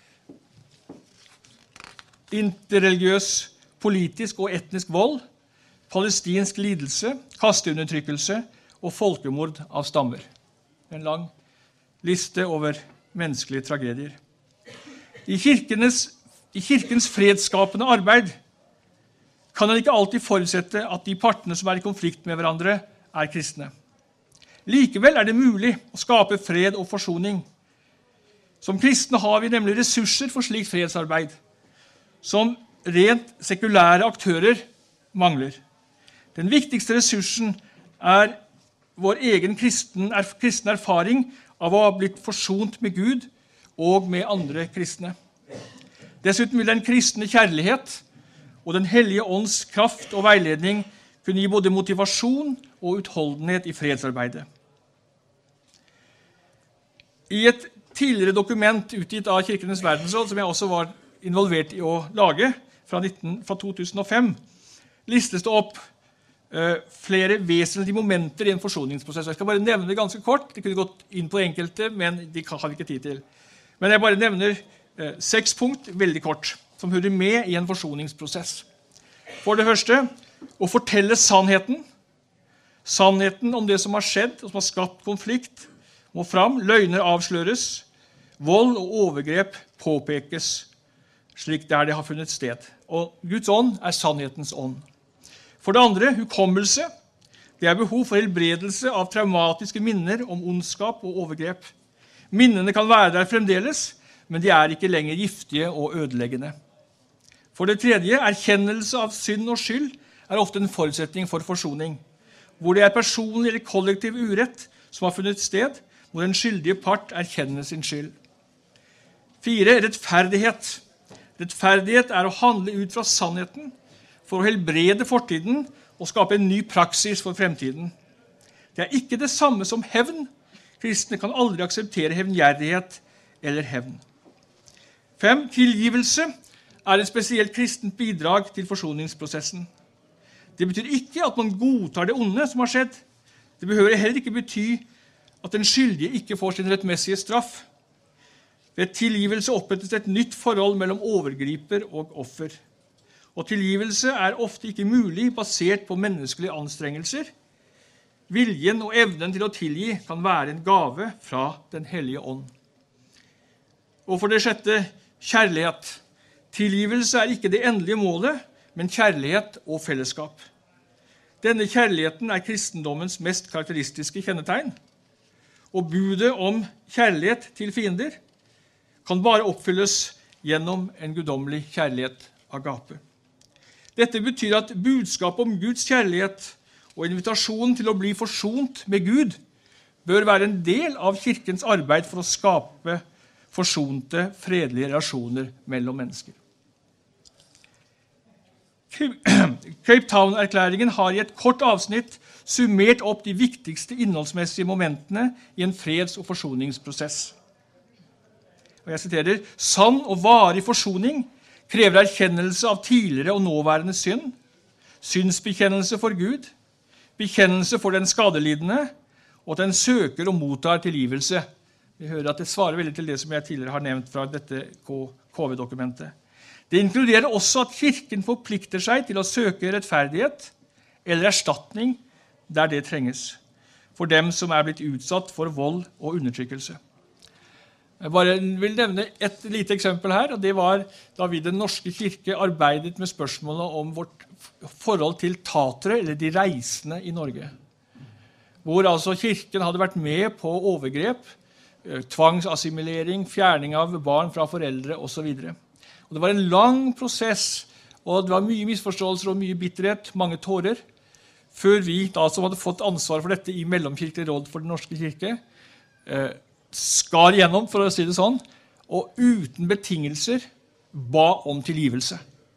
interreligiøs, politisk og etnisk vold, palestinsk lidelse, kasteundertrykkelse og folkemord av stammer. En lang liste over menneskelige tragedier. I, I kirkens fredsskapende arbeid kan en ikke alltid forutsette at de partene som er i konflikt med hverandre, er kristne. Likevel er det mulig å skape fred og forsoning. Som kristne har vi nemlig ressurser for slikt fredsarbeid, som rent sekulære aktører mangler. Den viktigste ressursen er vår egen kristen, er, kristne erfaring av å ha blitt forsont med Gud og med andre kristne. Dessuten vil den kristne kjærlighet og den hellige ånds kraft og veiledning kunne gi både motivasjon og utholdenhet i fredsarbeidet. I et tidligere dokument utgitt av Kirkenes verdensråd, som jeg også var involvert i å lage, fra, nitten, fra to tusen og fem, listes det opp uh, flere vesentlige momenter i en forsoningsprosess. Jeg skal bare nevne det ganske kort. Det kunne gått inn på enkelte, men de har vi ikke tid til. Men jeg bare nevner uh, seks punkt, veldig kort, som hører med i en forsoningsprosess. For det første, å fortelle sannheten. Sannheten om det som har skjedd, og som har skapt konflikt, må fram. Løgner avsløres. Vold og overgrep påpekes, slik der det har funnet sted. Og Guds ånd er sannhetens ånd. For det andre, hukommelse. Det er behov for helbredelse av traumatiske minner om ondskap og overgrep. Minnene kan være der fremdeles, men de er ikke lenger giftige og ødeleggende. For det tredje, erkjennelse av synd og skyld er ofte en forutsetning for forsoning, hvor det er personlig eller kollektiv urett som har funnet sted, hvor den skyldige part erkjenner sin skyld. Fire, rettferdighet. Rettferdighet er å handle ut fra sannheten for å helbrede fortiden og skape en ny praksis for fremtiden. Det er ikke det samme som hevn. Kristne kan aldri akseptere hevngjerrighet eller hevn. Fem, tilgivelse er et spesielt kristent bidrag til forsoningsprosessen. Det betyr ikke at man godtar det onde som har skjedd. Det behøver heller ikke bety at den skyldige ikke får sin rettmessige straff. Ved tilgivelse opprettes et nytt forhold mellom overgriper og offer. Og tilgivelse er ofte ikke mulig basert på menneskelige anstrengelser. Viljen og evnen til å tilgi kan være en gave fra den hellige ånd. Og for det sjette, kjærlighet. Tilgivelse er ikke det endelige målet, men kjærlighet og fellesskap. Denne kjærligheten er kristendommens mest karakteristiske kjennetegn. Og budet om kjærlighet til fiender kan bare oppfylles gjennom en guddommelig kjærlighet agape. Dette betyr at budskapet om Guds kjærlighet og invitasjonen til å bli forsont med Gud bør være en del av kirkens arbeid for å skape forsonte, fredelige relasjoner mellom mennesker. Cape Town-erklæringen har i et kort avsnitt summert opp de viktigste innholdsmessige momentene i en freds- og forsoningsprosess. Og jeg siterer, sann og varig forsoning krever erkjennelse av tidligere og nåværende synd, synsbekjennelse for Gud, bekjennelse for den skadelidende, og at den søker og mottar tilgivelse. Vi hører at det svarer veldig til det som jeg tidligere har nevnt fra dette K V-dokumentet. Det inkluderer også at kirken forplikter seg til å søke rettferdighet eller erstatning der det trenges, for dem som er blitt utsatt for vold og undertrykkelse. Jeg bare vil nevne et lite eksempel her, og det var da vi den norske kirke arbeidet med spørsmålet om vårt forhold til tatere, eller de reisende i Norge. Hvor altså kirken hadde vært med på overgrep, tvangsassimilering, fjerning av barn fra foreldre og så videre. Og det var en lang prosess, og det var mye misforståelser og mye bitterhet, mange tårer, før vi, da som hadde fått ansvar for dette i Mellomkirkelig råd for den norske kirke, eh, skar gjennom, for å si det sånn, og uten betingelser ba om tilgivelse.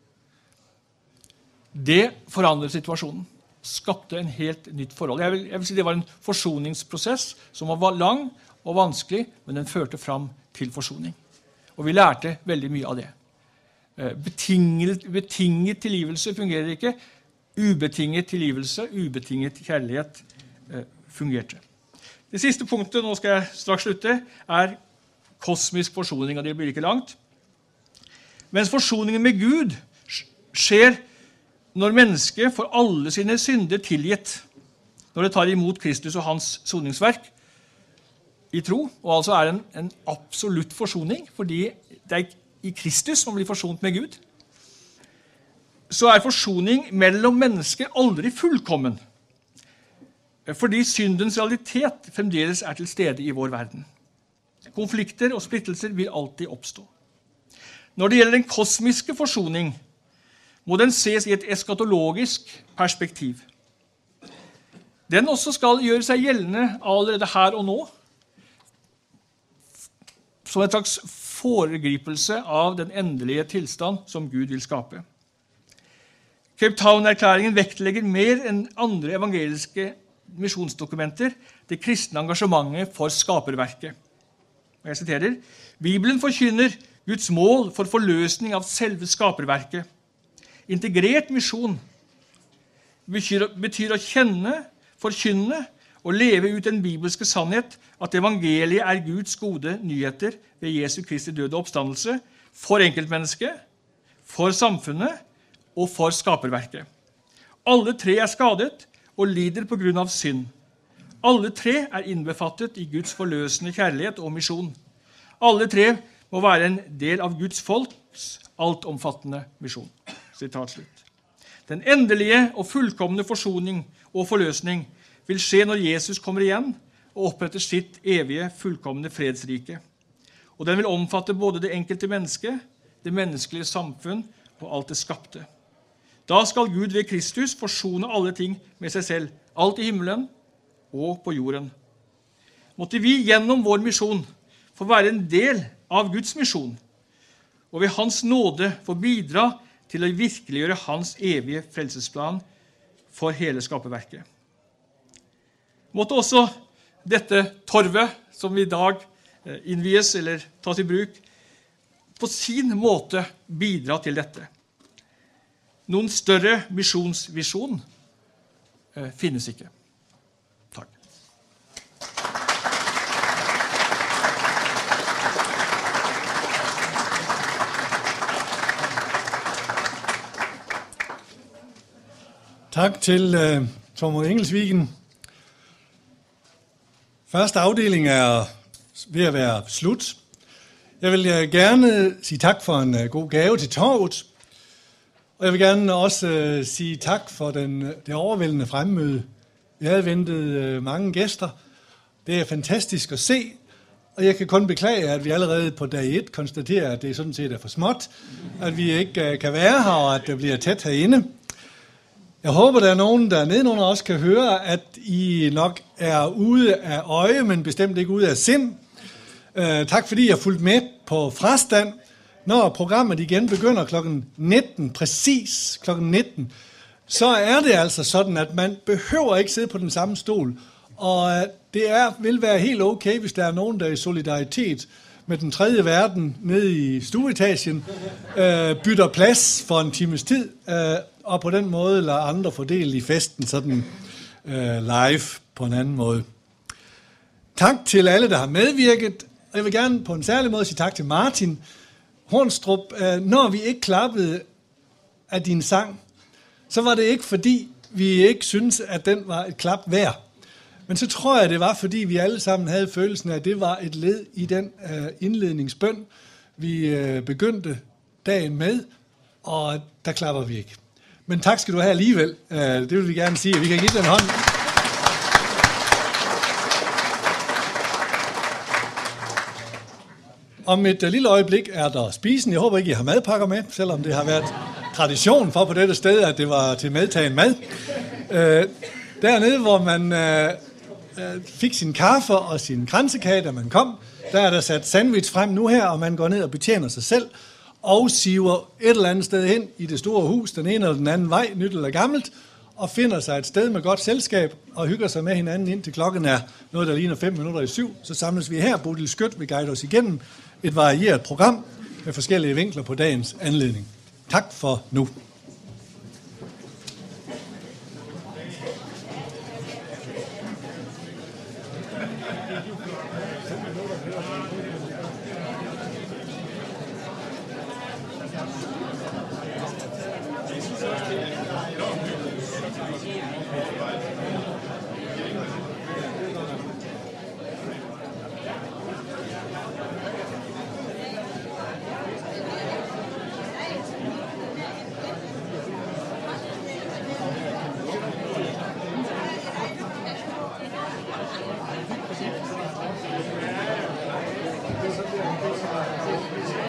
Det forandret situasjonen, skapte en helt nytt forhold. Jeg vil, jeg vil si det var en forsoningsprosess som var lang og vanskelig, men den førte fram til forsoning. Og vi lærte veldig mye av det. Betinget, betinget tilgivelse fungerer ikke. Ubetinget tilgivelse, ubetinget kjærlighet eh, fungerte. Det siste punktet, nå skal jeg straks slutte, er kosmisk forsoning, og det blir ikke langt. Mens forsoningen med Gud skjer når mennesket får alle sine synder tilgitt, når det tar imot Kristus og hans soningsverk i tro, og altså er en, en absolutt forsoning, fordi det er i Kristus man blir forsont med Gud, så er forsoning mellom mennesker aldri fullkommen, fordi syndens realitet fremdeles er til stede i vår verden. Konflikter og splittelser vil alltid oppstå. Når det gjelder den kosmiske forsoning, må den ses i et eskatologisk perspektiv. Den også skal gjøre seg gjeldende allerede her og nå, som en slags foregripelse av den endelige tilstand som Gud vil skape. Cape Town-erklæringen vektlegger mer enn andre evangeliske misjonsdokumenter det kristne engasjementet for skaperverket. Og jeg siterer, Bibelen forkynner Guds mål for forløsning av selve skaperverket. Integrert misjon betyr, betyr å kjenne, forkynne og leve ut den bibelske sannhet at evangeliet er Guds gode nyheter ved Jesu Kristi døde oppstandelse for enkeltmennesket, for samfunnet og for skaperverket. Alle tre er skadet og lider på grunn av synd. Alle tre er innbefattet i Guds forløsende kjærlighet og misjon. Alle tre må være en del av Guds folks altomfattende misjon. Sitat slutt. Den endelige og fullkomne forsoning og forløsning vil skje når Jesus kommer igjen og oppretter sitt evige, fullkomne fredsrike. Og den vil omfatte både det enkelte menneske, det menneskelige samfunn og alt det skapte. Da skal Gud ved Kristus forsone alle ting med seg selv, alt i himmelen og på jorden. Måtte vi gjennom vår misjon få være en del av Guds misjon, og ved hans nåde få bidra til å virkeliggjøre hans evige frelsesplan for hele skaperverket. Måtte også dette torvet, som i dag innvies eller tas i bruk, på sin måte bidra til dette. Noen større misjonsvisjon eh, finnes ikke. Takk. Takk til uh, Tormod Engelsvigen. Første afdeling er ved at være slut. Jeg vil uh, gerne sige tak for en uh, god gave til torvet. Og jeg vil gerne også uh, sige tak for den, det overvældende fremmøde. Vi havde ventet uh, mange gæster. Det er fantastisk at se. Og jeg kan kun beklage, at vi allerede på dag et konstaterer, at det sådan set er for småt. At vi ikke uh, kan være her, og at det bliver tæt herinde. Jeg håber, der er nogen, der nedenunder også kan høre, at I nok er ude af øje, men bestemt ikke ude af sind. Uh, tak fordi I har fulgt med på frastand. Når programmet igen begynder klokken nitten, præcis klokken nitten, så er det altså sådan, at man behøver ikke sidde på den samme stol. Og det er, vil være helt okay, hvis der er nogen, der i solidaritet med den tredje verden nede i stueetagen øh, bytter plads for en times tid, øh, og på den måde lader andre fordele i festen sådan øh, live på en anden måde. Tak til alle, der har medvirket, og jeg vil gerne på en særlig måde sige tak til Martin Hornstrup. Når vi ikke klappede af din sang, så var det ikke fordi, vi ikke synes at den var et klap værd. Men så tror jeg, det var fordi, vi alle sammen havde følelsen af, at det var et led i den indledningsbøn, vi begyndte dagen med, og der klapper vi ikke. Men tak skal du have alligevel. Det vil vi gerne sige. Vi kan give den hånd. Om et lille øjeblik er der spisen. Jeg håber ikke, I har madpakker med, selvom det har været tradition for på dette sted, at det var til medtagen mad. Øh, dernede, hvor man øh, øh, fik sin kaffe og sin kransekage, da man kom. Der er der sat sandwich frem nu her, og man går ned og betjener sig selv, og siver et eller andet sted hen i det store hus, den ene eller den anden vej, nyt eller gammelt, og finder sig et sted med godt selskab, og hygger sig med hinanden indtil klokken er noget, der ligner fem minutter i syv. Så samles vi her. Bodil Skødt vil guide os igennem et varieret program med forskellige vinkler på dagens anledning. Tak for nu.